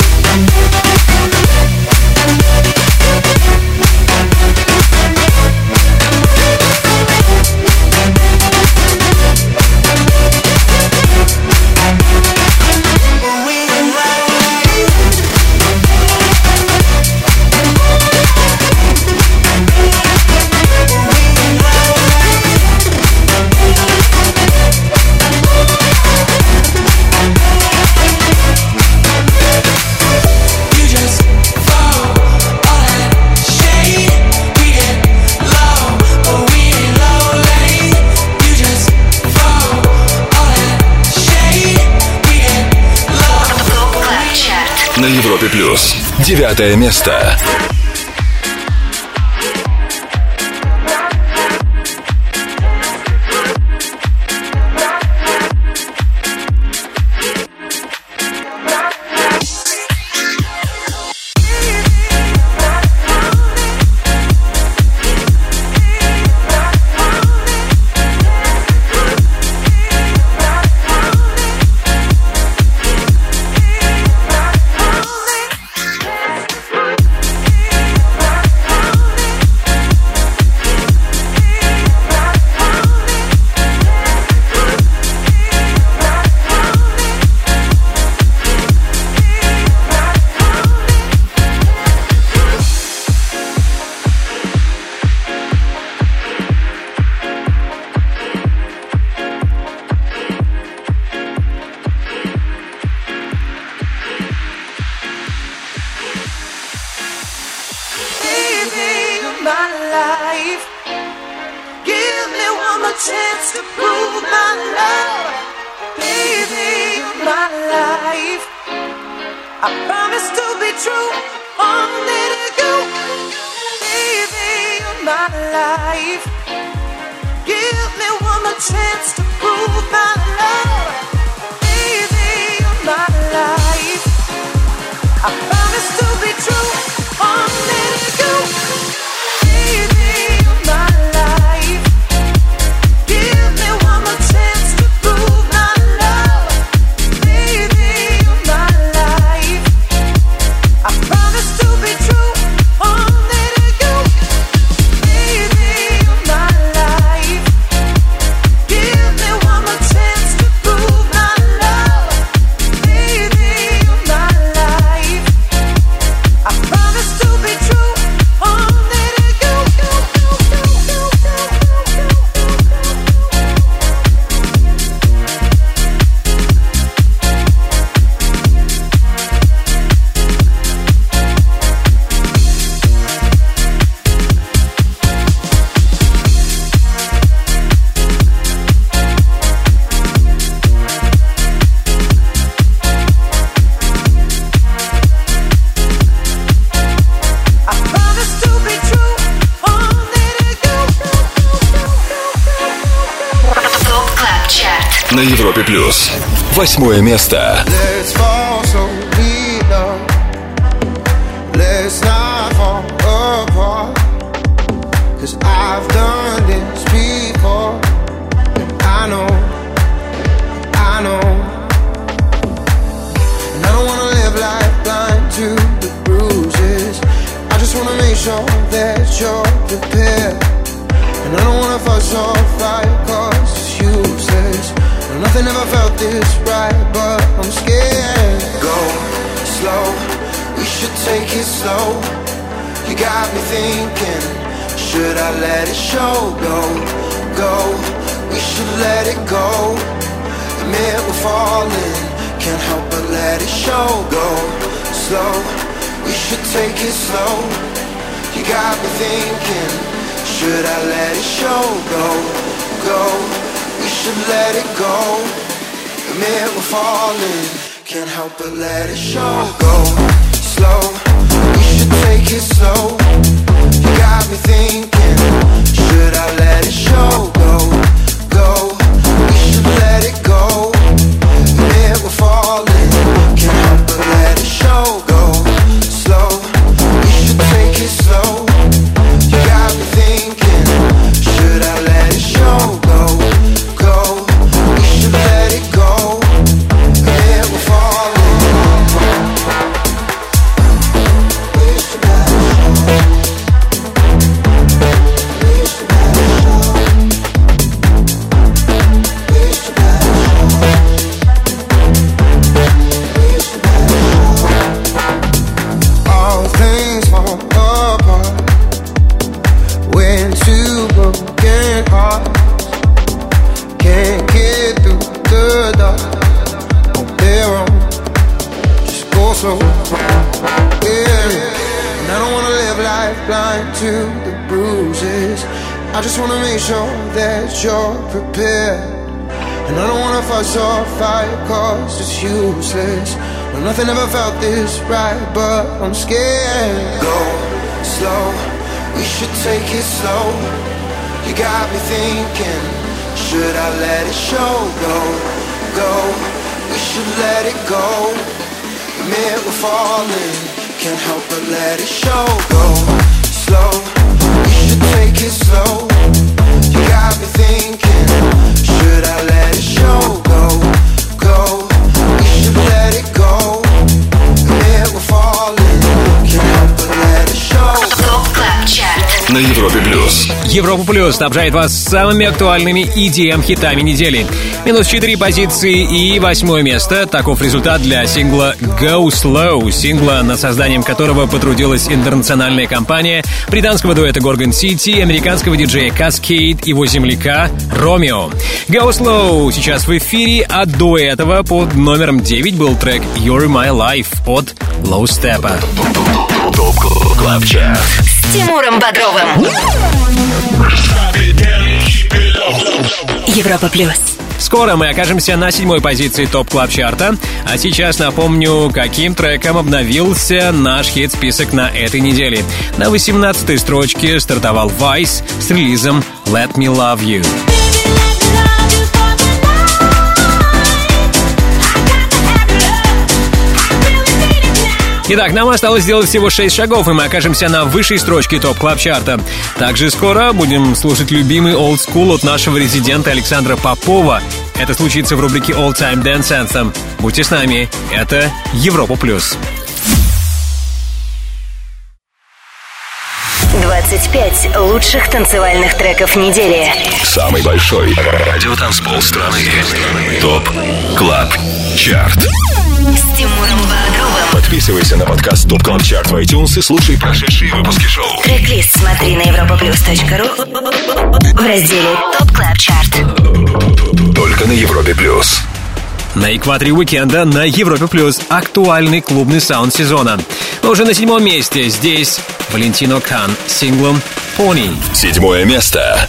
But we ain't lonely. You just fall, all that shade. We get low, but we ain't lonely. You just fall, all that shade. We get low. Топ Клаб Чарт. На Европе плюс. Девятое место. life. Give me one more chance to prove my love. Baby, you're my life. I promise to be true, only to you. Baby, you're my life. Give me one more chance to prove my love. Baby, you're my life. I promise to be true, only to you. Baby, you're my life. Give me one more chance to prove my love. Baby, you're my life. I promise to be true, only to you. Baby, you're my life. Give me one more chance to prove my love. Baby, you're my life. I promise to be true, only to you. I promise to be true, only to you. ТОП Клаб Чарт. На Европе плюс. Восьмое место. Let's fall so we know. Let's not fall apart. Cause I've done this before. And I know, I know. And I don't wanna live life blind to the bruises. I just wanna make sure that you're prepared. And I don't wanna fuss or fight cause it's useless. No, nothing ever felt this right, but I'm scared. Go slow, we should take it slow. You got me thinking, should I let it show? Go, go, we should let it go. Admit we're falling, can't help but let it show. Go slow, we should take it slow. You got me thinking, should I let it show? Go, go, we should let it go. Admit we're falling, can't help but let it show. Go slow, we should take it slow. You got me thinking, should I let it show? Go, go, we should let it go. Admit we're falling, can't help but let it show. Go slow, we should take it slow. You got me thinking, should I let it show? Go, go, we should let it go. Admit we're falling. We should let it show. We should let it show. We should let it show. We should let it show. All things fall apart when two broken hearts can't get through the dark on their own. Just go slow, yeah. And I don't wanna live life blind to the bruises. I just wanna make sure that you're prepared. And I don't wanna fuss or fight cause it's useless. No, nothing ever felt this right, but I'm scared. Go slow, we should take it slow. You got me thinking, should I let it show? Go, go, we should let it go. Admit we're falling, can't help but let it show. Go slow, we should take it slow. You got me thinking, should I let it show? Go, go, we should let it go. Admit we're falling, can't help but let it show. ТОП Клаб Чарт. На Европе плюс. Европа Плюс снабжает вас самыми актуальными и ди эм-хитами недели. Минус четыре позиции и восьмое место. Таков результат для сингла «Go Slow», сингла, над созданием которого потрудилась интернациональная компания британского дуэта Gorgon City, американского диджея Cascade и его земляка Ромео. «Go Slow» сейчас в эфире, а до этого под номером девять был трек «You're My Life» от Low Steppa. ТОП Клаб Чарт. с Тимуром Бодровым. Европа плюс. Скоро мы окажемся на седьмой позиции ТОП Клаб Чарта. А сейчас напомню, каким треком обновился наш хит-список на этой неделе. На восемнадцатой строчке стартовал Vice с релизом «Let Me Love You». Итак, нам осталось сделать всего шесть шагов, и мы окажемся на высшей строчке ТОП Клаб Чарта. Также скоро будем слушать любимый Old School от нашего резидента Александра Попова. Это случится в рубрике All Time Dance Anthem. Будьте с нами. Это Европа плюс. двадцать пять лучших танцевальных треков недели. Самый большой радиотанцпол страны. ТОП Клаб Чарт. С Тимуром Бодровым. Подписывайся на подкаст ТОП Клаб Чарт в iTunes и слушай прошедшие выпуски шоу. Трек-лист смотри на европа плюс точка ру в разделе ТОП Клаб Чарт. Только на Европе плюс. На экваторе уикенда на Европе плюс актуальный клубный саунд сезона. Но уже на седьмом месте здесь Валентино Кан с синглом «Pony». Седьмое место.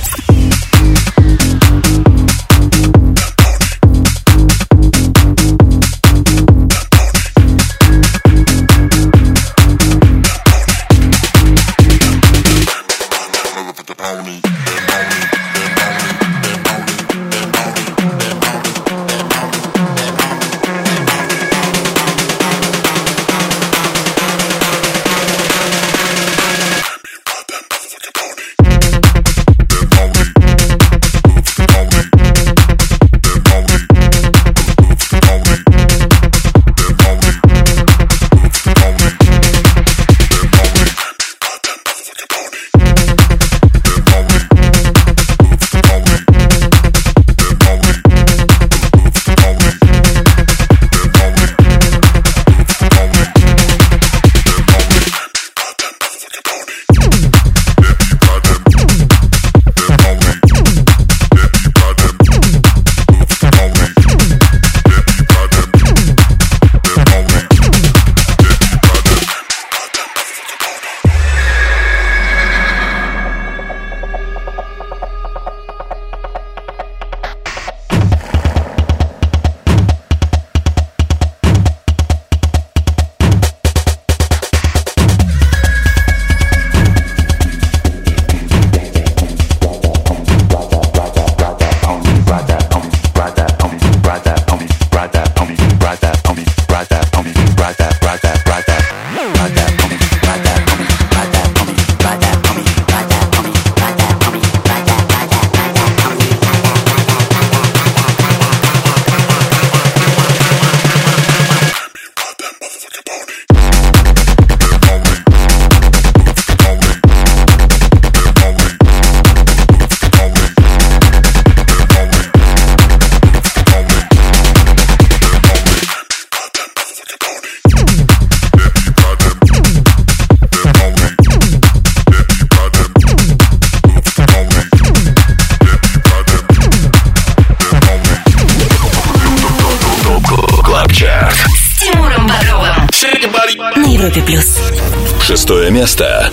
Шестое место.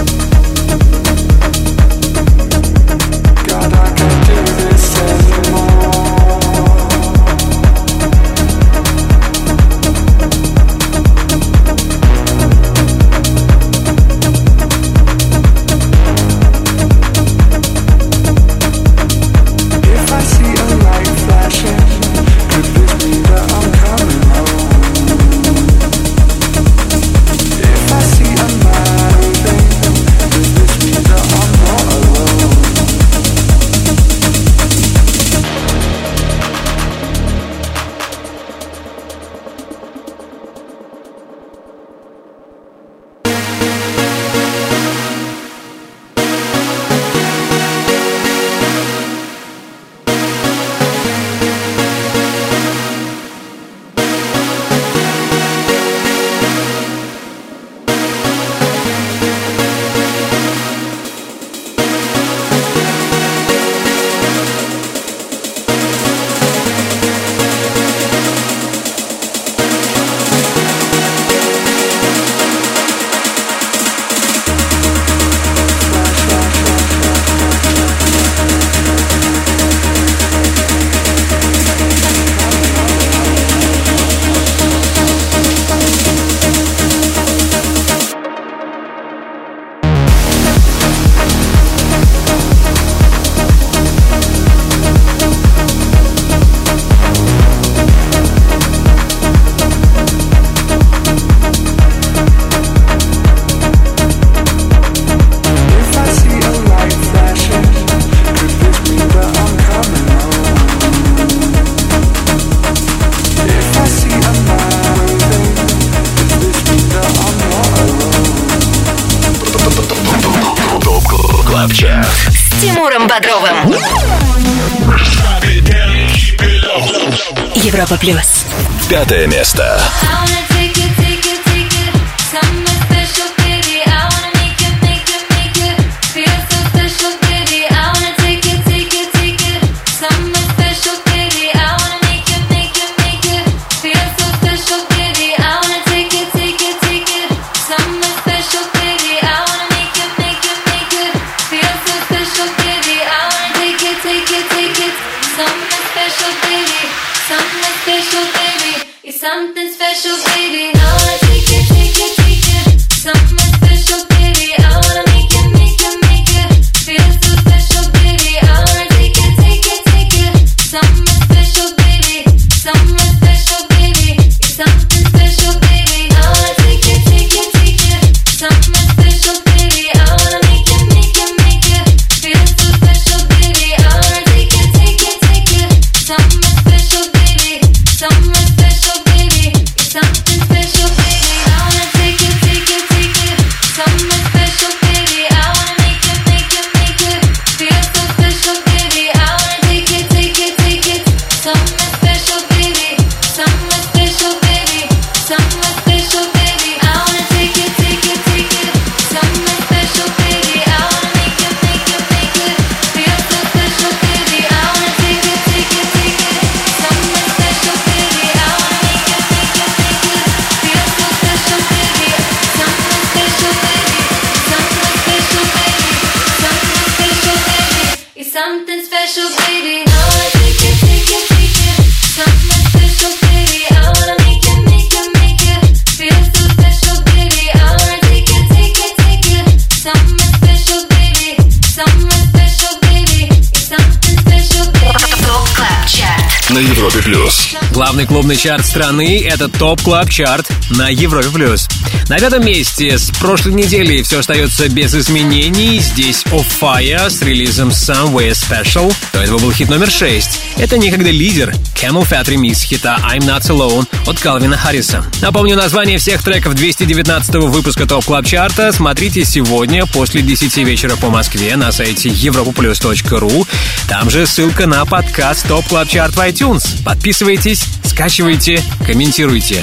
God, I can't do this anymore. Тимуром Бодровым. Европа плюс. Пятое место. Something special, baby. I wanna take it, take it, take it. Something special, baby. I wanna make it, make it, make it. Feel so special, baby. I wanna take it, take it, take it. Something special, baby. Something special, baby. It's something special, baby. I wanna take it, take it, take it. Something special, baby. I wanna make it, make it, make it. Feel so special, baby. I wanna take it, take it, take it. Something special, baby. Something special, baby. It's something special, baby. I wanna take it, take it, take it. Something special, baby. I wanna make it, make it, make it. Feel so special, baby. I wanna take it, take it, take it. Something special, baby. Something special, baby. Something special, baby. I wanna take it, take it, take it. Something special, baby. I wanna make it, make it, make it. Feel so special, baby. I wanna take it, take it, take it. Something special, baby. I wanna make it, make it, make it. Feel so special, baby. Something special, baby. Something special, baby. Something special, baby. It's something special, baby. I wanna take it, take it, take it. Something special, baby. I wanna make it, make it, make it. Feel so special, baby. I wanna take it, take it, take it. Something special, baby. Something special, baby. It's something special, baby. Топ Клаб Чарт На Европе плюс. Главный клубный чарт страны — это ТОП Клаб Чарт на Европе плюс. На пятом месте с прошлой недели все остается без изменений. Здесь Of Fire с релизом Somewhere Special. До этого был хит номер шесть. Это некогда лидер Camel Fat ремикс хита I'm Not Alone от Калвина Харриса. Напомню, название всех треков двести девятнадцатого выпуска ТОП Клаб Чарта смотрите сегодня после десяти вечера по Москве на сайте европа плюс точка ру. Там же ссылка на подкаст ТОП Клаб Чарт в iTunes. Подписывайтесь, скачивайте, комментируйте.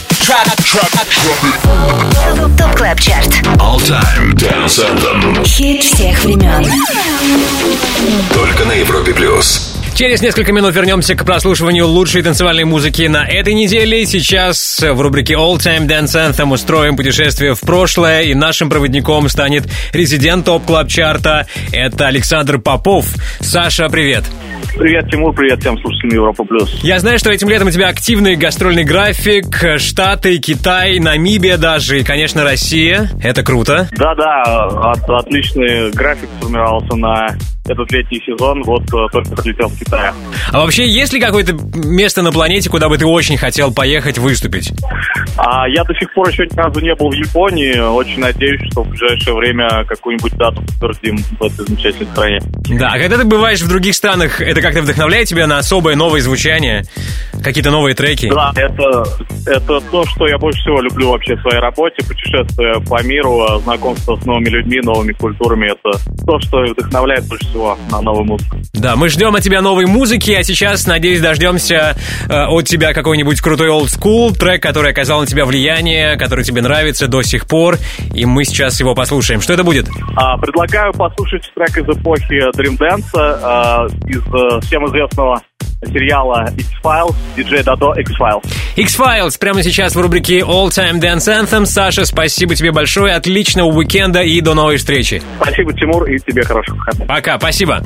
Топ Клаб Чарт. All Time Dance Anthem. Хит всех времен. Только на Европе плюс. Через несколько минут вернемся к прослушиванию лучшей танцевальной музыки на этой неделе. Сейчас в рубрике All Time Dance Anthem устроим путешествие в прошлое, и нашим проводником станет резидент ТОП Клаб Чарта. Это Александр Попов. Саша, привет. Привет, Тимур, привет всем слушателям Европа плюс. Я знаю, что этим летом у тебя активный гастрольный график. Штаты, Китай, Намибия даже и, конечно, Россия. Это круто. Да-да, от, отличный график сформировался на этот летний сезон. Вот только прилетел в Китай. А вообще, есть ли какое-то место на планете, куда бы ты очень хотел поехать выступить? А, я до сих пор еще ни разу не был в Японии. Очень надеюсь, что в ближайшее время какую-нибудь дату подтвердим в этой замечательной стране. Да, а когда ты бываешь в других странах, это как-то вдохновляет тебя на особое новое звучание? Какие-то новые треки? Да, это, это то, что я больше всего люблю вообще в своей работе. Путешествие по миру, знакомство с новыми людьми, новыми культурами. Это то, что вдохновляет больше всего на новую музыку. Да, мы ждем от тебя новой музыки, а сейчас, надеюсь, дождемся э, от тебя какой-нибудь крутой old school трек, который оказал на тебя влияние, который тебе нравится до сих пор, и мы сейчас его послушаем. Что это будет? А, предлагаю послушать трек из эпохи Dream Dance, а, из а, всем известного сериала X-Files, диджей Дадо X-Files. X-Files прямо сейчас в рубрике All Time Dance Anthem. Саша, спасибо тебе большое, отличного уикенда и до новой встречи. Спасибо, Тимур, и тебе хороших выходных. Пока, спасибо.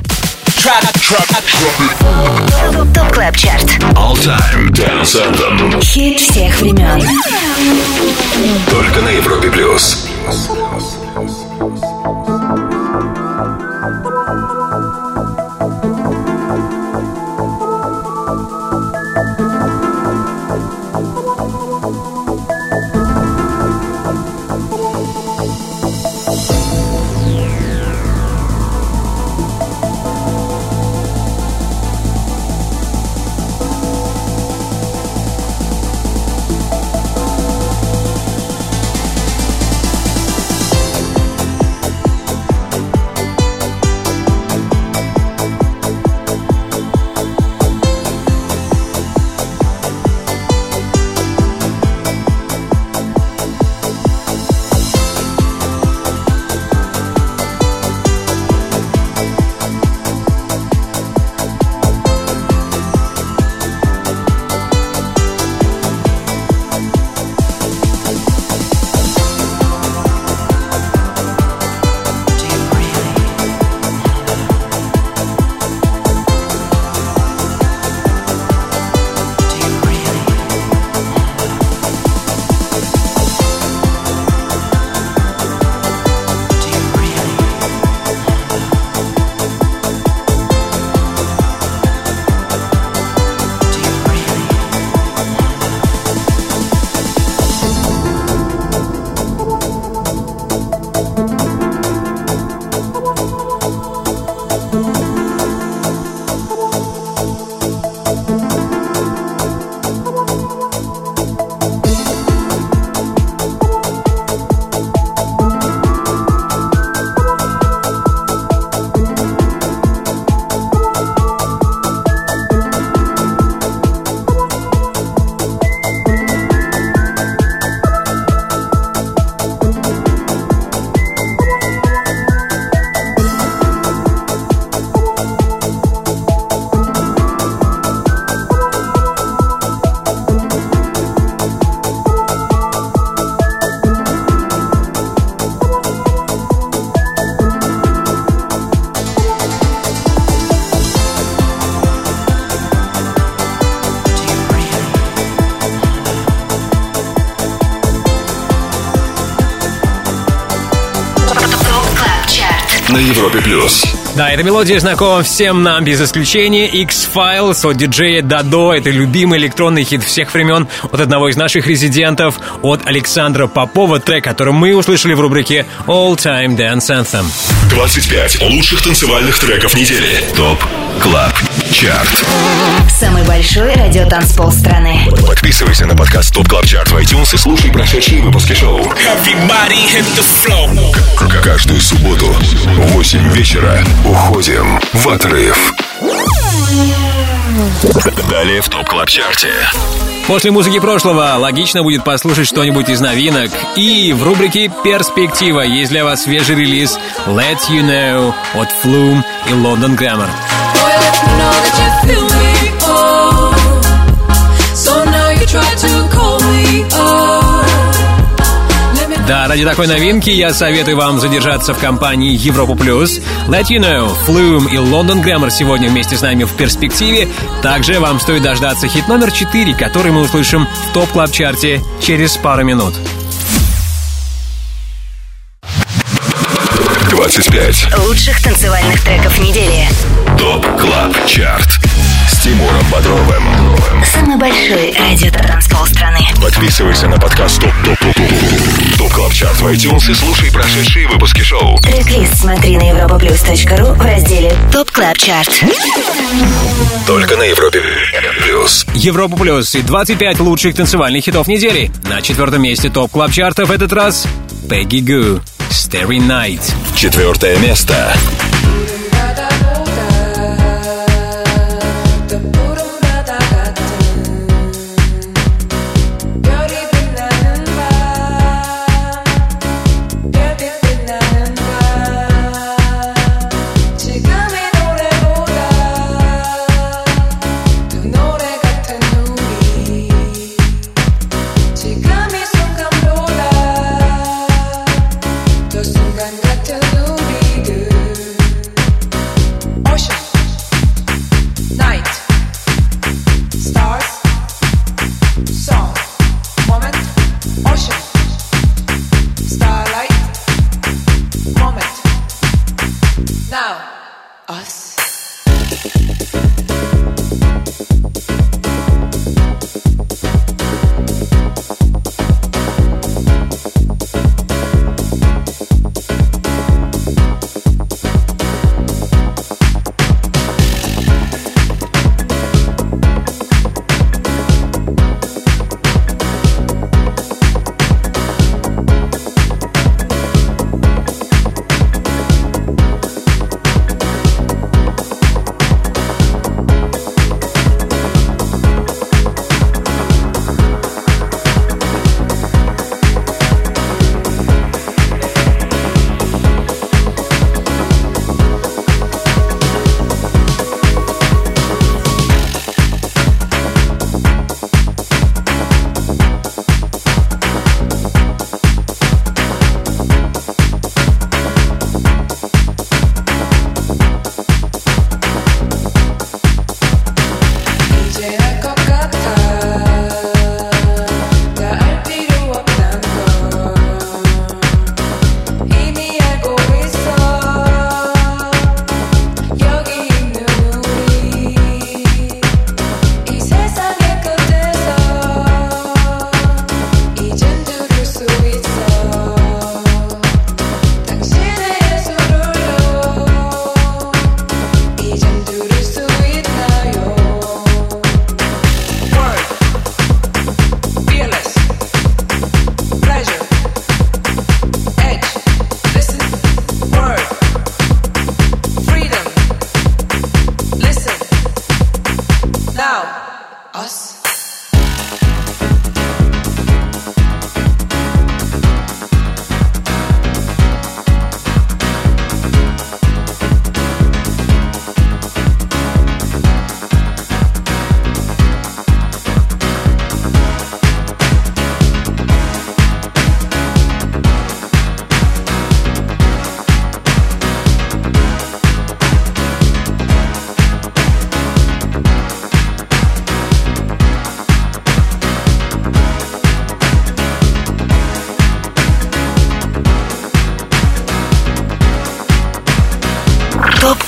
Топ Клаб Чарт. All Time Dance Anthem. Хит всех времен. Только на Европе плюс. Европе плюс. Да, эта мелодия знакома всем нам без исключения. X-Files от диджея Дадо. Это любимый электронный хит всех времен от одного из наших резидентов, от Александра Попова. Трек, который мы услышали в рубрике All Time Dance Anthem. двадцать пять лучших танцевальных треков недели. ТОП Клаб Чарт. Самый большой радиотанцпол страны. Подписывайся на подкаст ТОП Клаб Чарт в iTunes и слушай прошедшие выпуски шоу. К- Каждую субботу в восемь вечера уходим в отрыв. Далее в ТОП Клаб Чарте. После музыки прошлого логично будет послушать что-нибудь из новинок. И в рубрике «Перспектива» есть для вас свежий релиз «Let You Know» от Flume и London Grammar. Да, ради такой новинки я советую вам задержаться в компании Европа Плюс. Let You Know, Flume и London Grammar сегодня вместе с нами в перспективе. Также вам стоит дождаться хит номер четыре, который мы услышим в ТОП Клаб Чарте через пару минут. двадцать пять лучших танцевальных треков недели. ТОП Клаб Чарт с Тимуром Бодровым. Самый большой радиотанцпол страны. Подписывайся на подкаст ТОП ТОП ТОП ТОП Клаб Чарт в iTunes и слушай прошедшие выпуски шоу. Трек-лист смотри на европаплюс точка ру в разделе ТОП Клаб Чарт. Только на Европе Плюс. Европа Плюс и двадцать пять лучших танцевальных хитов недели. На четвертом месте ТОП Клаб Чарта в этот раз Peggy Gou, Starry Night. Четвертое место.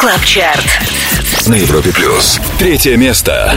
Клаб Чарт на Европе плюс. Третье место.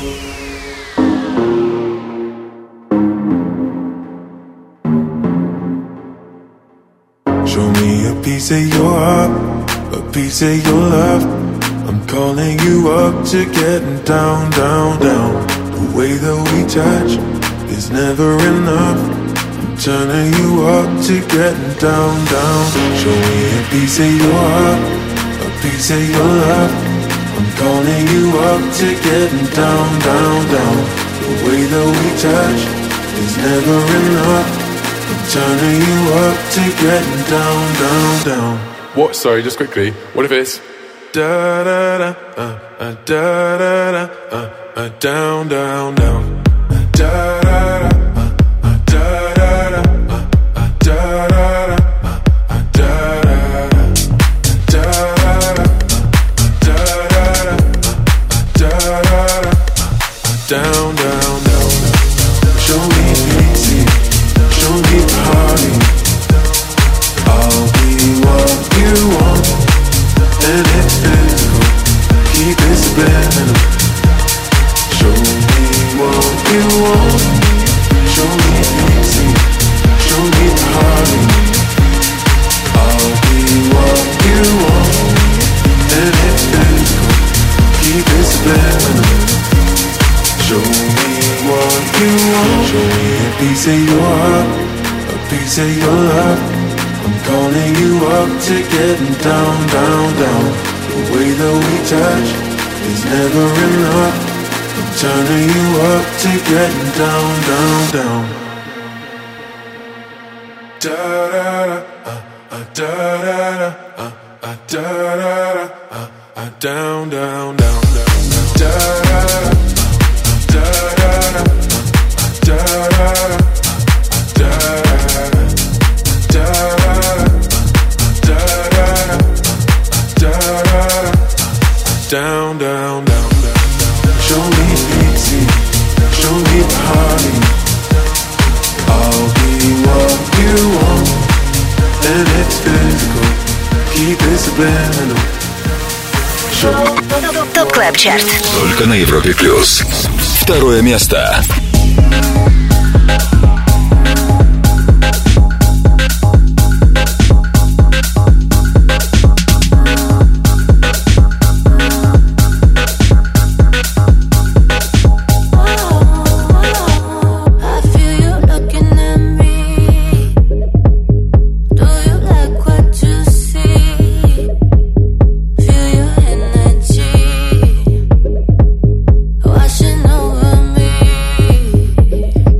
Show me a piece of your heart, a piece of your love. I'm calling you up to getting down, down, down. The way that we touch is never enough. I'm turning you up to getting down, down. Show me a piece of your heart, a piece of your love. I'm calling you up to getting down, down, down. The way that we touch is never enough. I'm turning you up to getting down, down, down. What? Sorry, just quickly. What if it's da da da uh, uh, da da da uh, uh, down, down, down. Uh, da da da uh, uh, da da da uh, uh, da da da uh, uh, da da da da da da da da da da down, down, down. Show me easy, show me party. I'll be what you want, and it's physical. Keep it subliminal. Show me what you want. Show me easy, show me party. I'll be what you want, and it's physical. Keep it subliminal. Show me what you want. Show me a piece of your heart, a piece of your love. I'm calling you up to getting down, down, down. The way that we touch is never enough. I'm turning you up to getting down, down, down. Da da da, uh, uh, da da da, uh, uh, da da da, uh, uh, down, down, down, down, da da da. Down, down, down, down. Show me easy, show me party. I'll be what you want, and it's physical. Keep it subliminal. Топ Клаб Чарт. Только на Европе плюс. Второе место. Washing over me.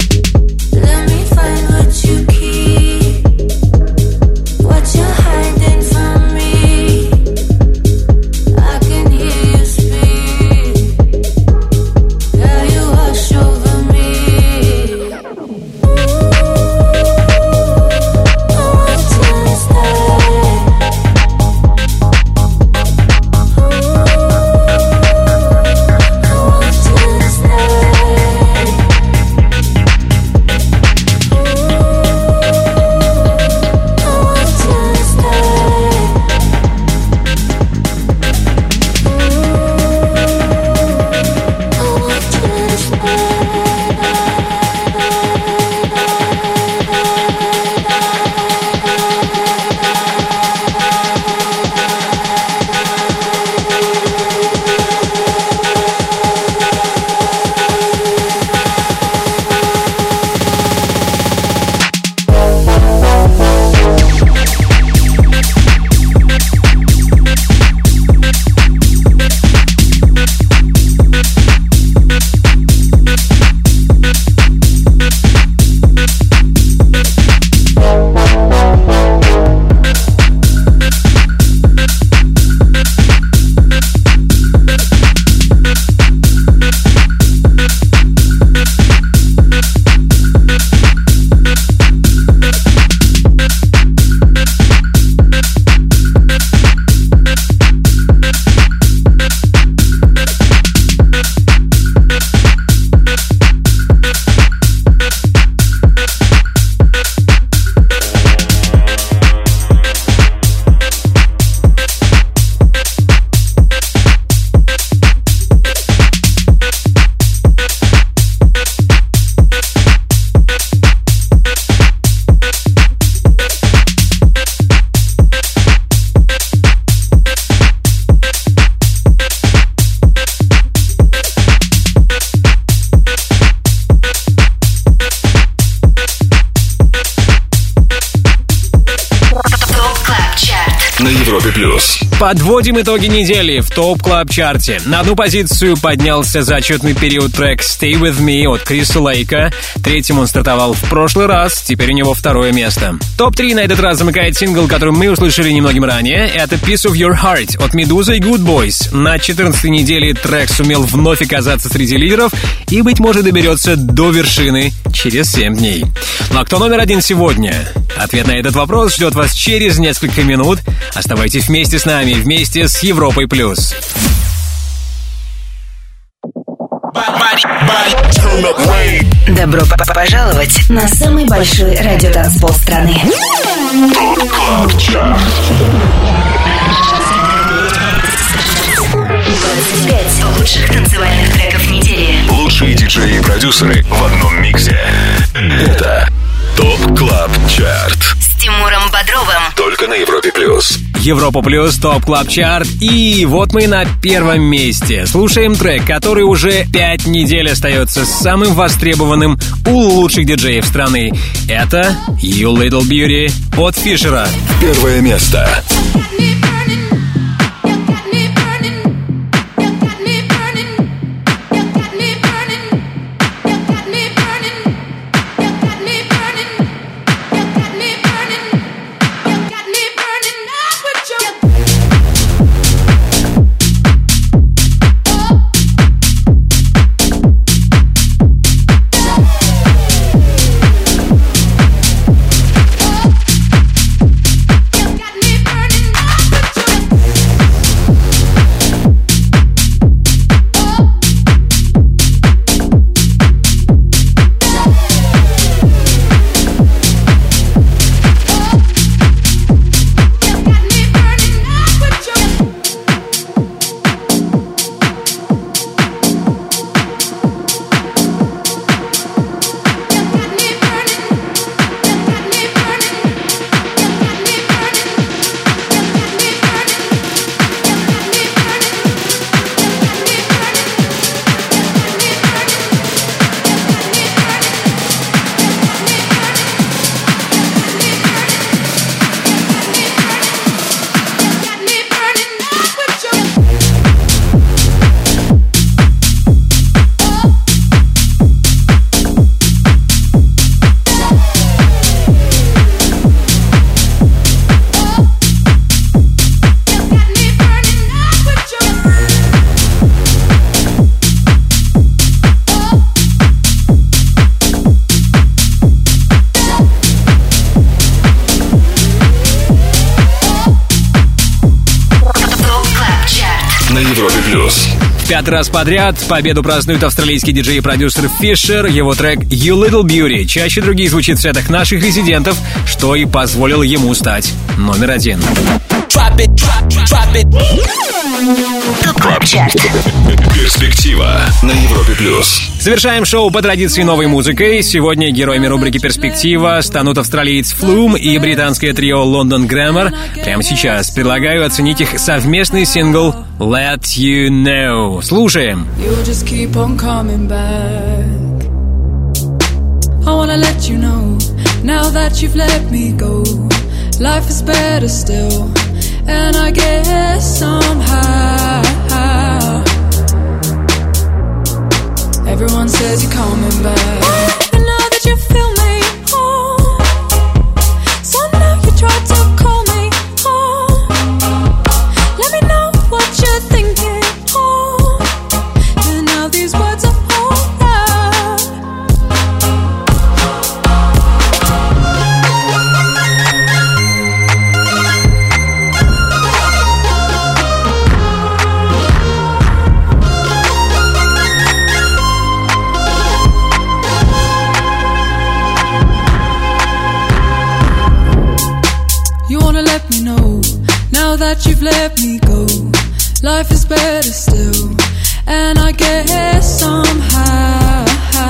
Подводим итоги недели в ТОП Клаб Чарте. На одну позицию поднялся за отчетный период трек «Stay With Me» от Криса Лейка. Третьим он стартовал в прошлый раз, теперь у него второе место. топ три на этот раз замыкает сингл, который мы услышали немногим ранее. Это «Piece of Your Heart» от Медузы и Good Boys. На четырнадцатой неделе трек сумел вновь оказаться среди лидеров и, быть может, доберется до вершины через семь дней. Ну а кто номер один сегодня? Ответ на этот вопрос ждет вас через несколько минут. Оставайтесь вместе с нами, вместе с Европой плюс. Добро пожаловать на самый большой радиотанцпол страны. двадцать пять лучших танцевальных треков недели. Лучшие диджеи и продюсеры в одном миксе. Это ТОП Клаб Чарт С Тимуром Бодровым. Только на Европе плюс. Европа плюс, ТОП Клаб Чарт. И вот мы на первом месте. Слушаем трек, который уже пять недель остается самым востребованным у лучших диджеев страны. Это You Little Beauty от Фишера. Первое место. Пятый раз подряд победу празднует австралийский диджей и продюсер Фишер. Его трек «You Little Beauty» чаще других звучит в сетах наших резидентов, что и позволило ему стать номер один. Перспектива на Европе плюс. Завершаем шоу по традиции новой музыкой. Сегодня героями рубрики «Перспектива» станут австралиец Flume и британское трио London Grammar. Прямо сейчас предлагаю оценить их совместный сингл «Let You Know». Слушаем. You'll just keep on coming back. I wanna let you know, now that you've let me go, life is better still, and I guess somehow everyone says you're coming back. And now that you feel me, oh, so now you try to call me, oh, let me know what you're thinking, oh, and now these words are all out. You wanna let me know, now that you've let me go, life is better still, and I guess somehow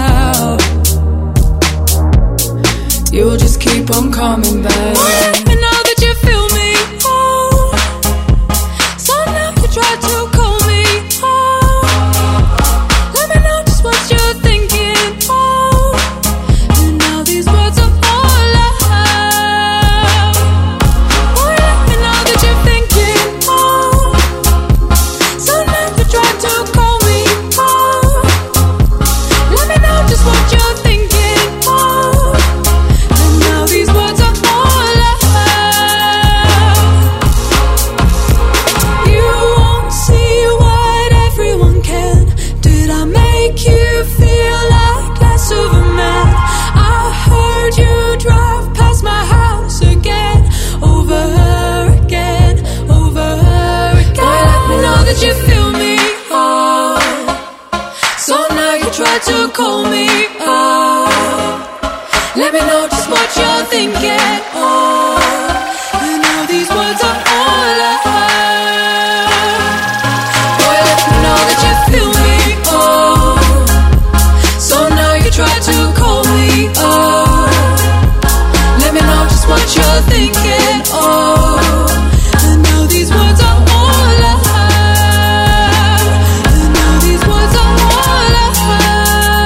you'll just keep on coming back. And now that you feel me, oh, so now you try to call me, oh, let me know just what you're thinking, oh, and now these words are all out. Oh, let me know that you're thinking, oh, make you feel like less of a man. I heard you drive past my house again, over again, over again. Boy, let me know that you feel me, oh. So now you try to call me up. Let me know just what you're thinking, oh. And now these words are all I have. Boy, let me know that you feel me, oh. So now you try to call me up. Let me know just what you're thinking, oh. And now these words are all I have. And now these words are all I have.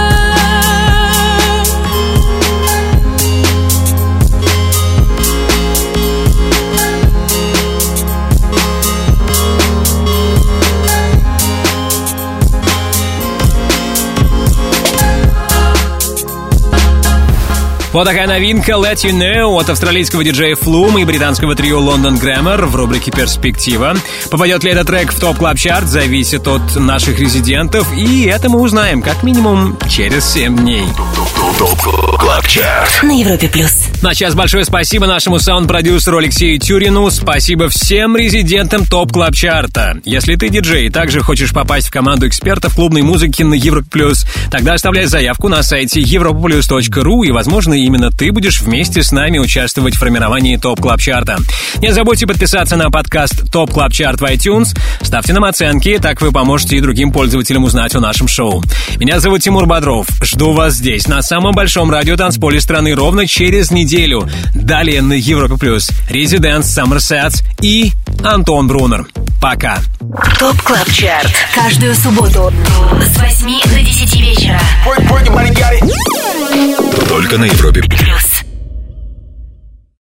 Вот такая новинка Let You Know от австралийского диджея Flume и британского трио London Grammar в рубрике «Перспектива». Попадет ли этот трек в топ клаб чарт, зависит от наших резидентов, и это мы узнаем как минимум через семь дней. топ клаб чарт на Европе плюс. На час большое спасибо нашему саунд-продюсеру Алексею Тюрину. Спасибо всем резидентам топ клаб чарта. Если ты диджей и также хочешь попасть в команду экспертов клубной музыки на Европе плюс, тогда оставляй заявку на сайте европа плюс точка ру, и, возможно, именно ты будешь вместе с нами участвовать в формировании топ клаб чарта. Не забудьте подписаться на подкаст топ клаб чарт в iTunes, ставьте нам оценки, так вы поможете и другим пользователям узнать о нашем шоу. Меня зовут Тимур Бодров. Жду вас здесь, на самом большом радиотанцполе страны, ровно через неделю. Далее на Европе плюс Residents, Summer Sets и Антон Брунер. Пока. топ клаб чарт. Каждую субботу с восьми до десяти вечера. Только на Европе плюс.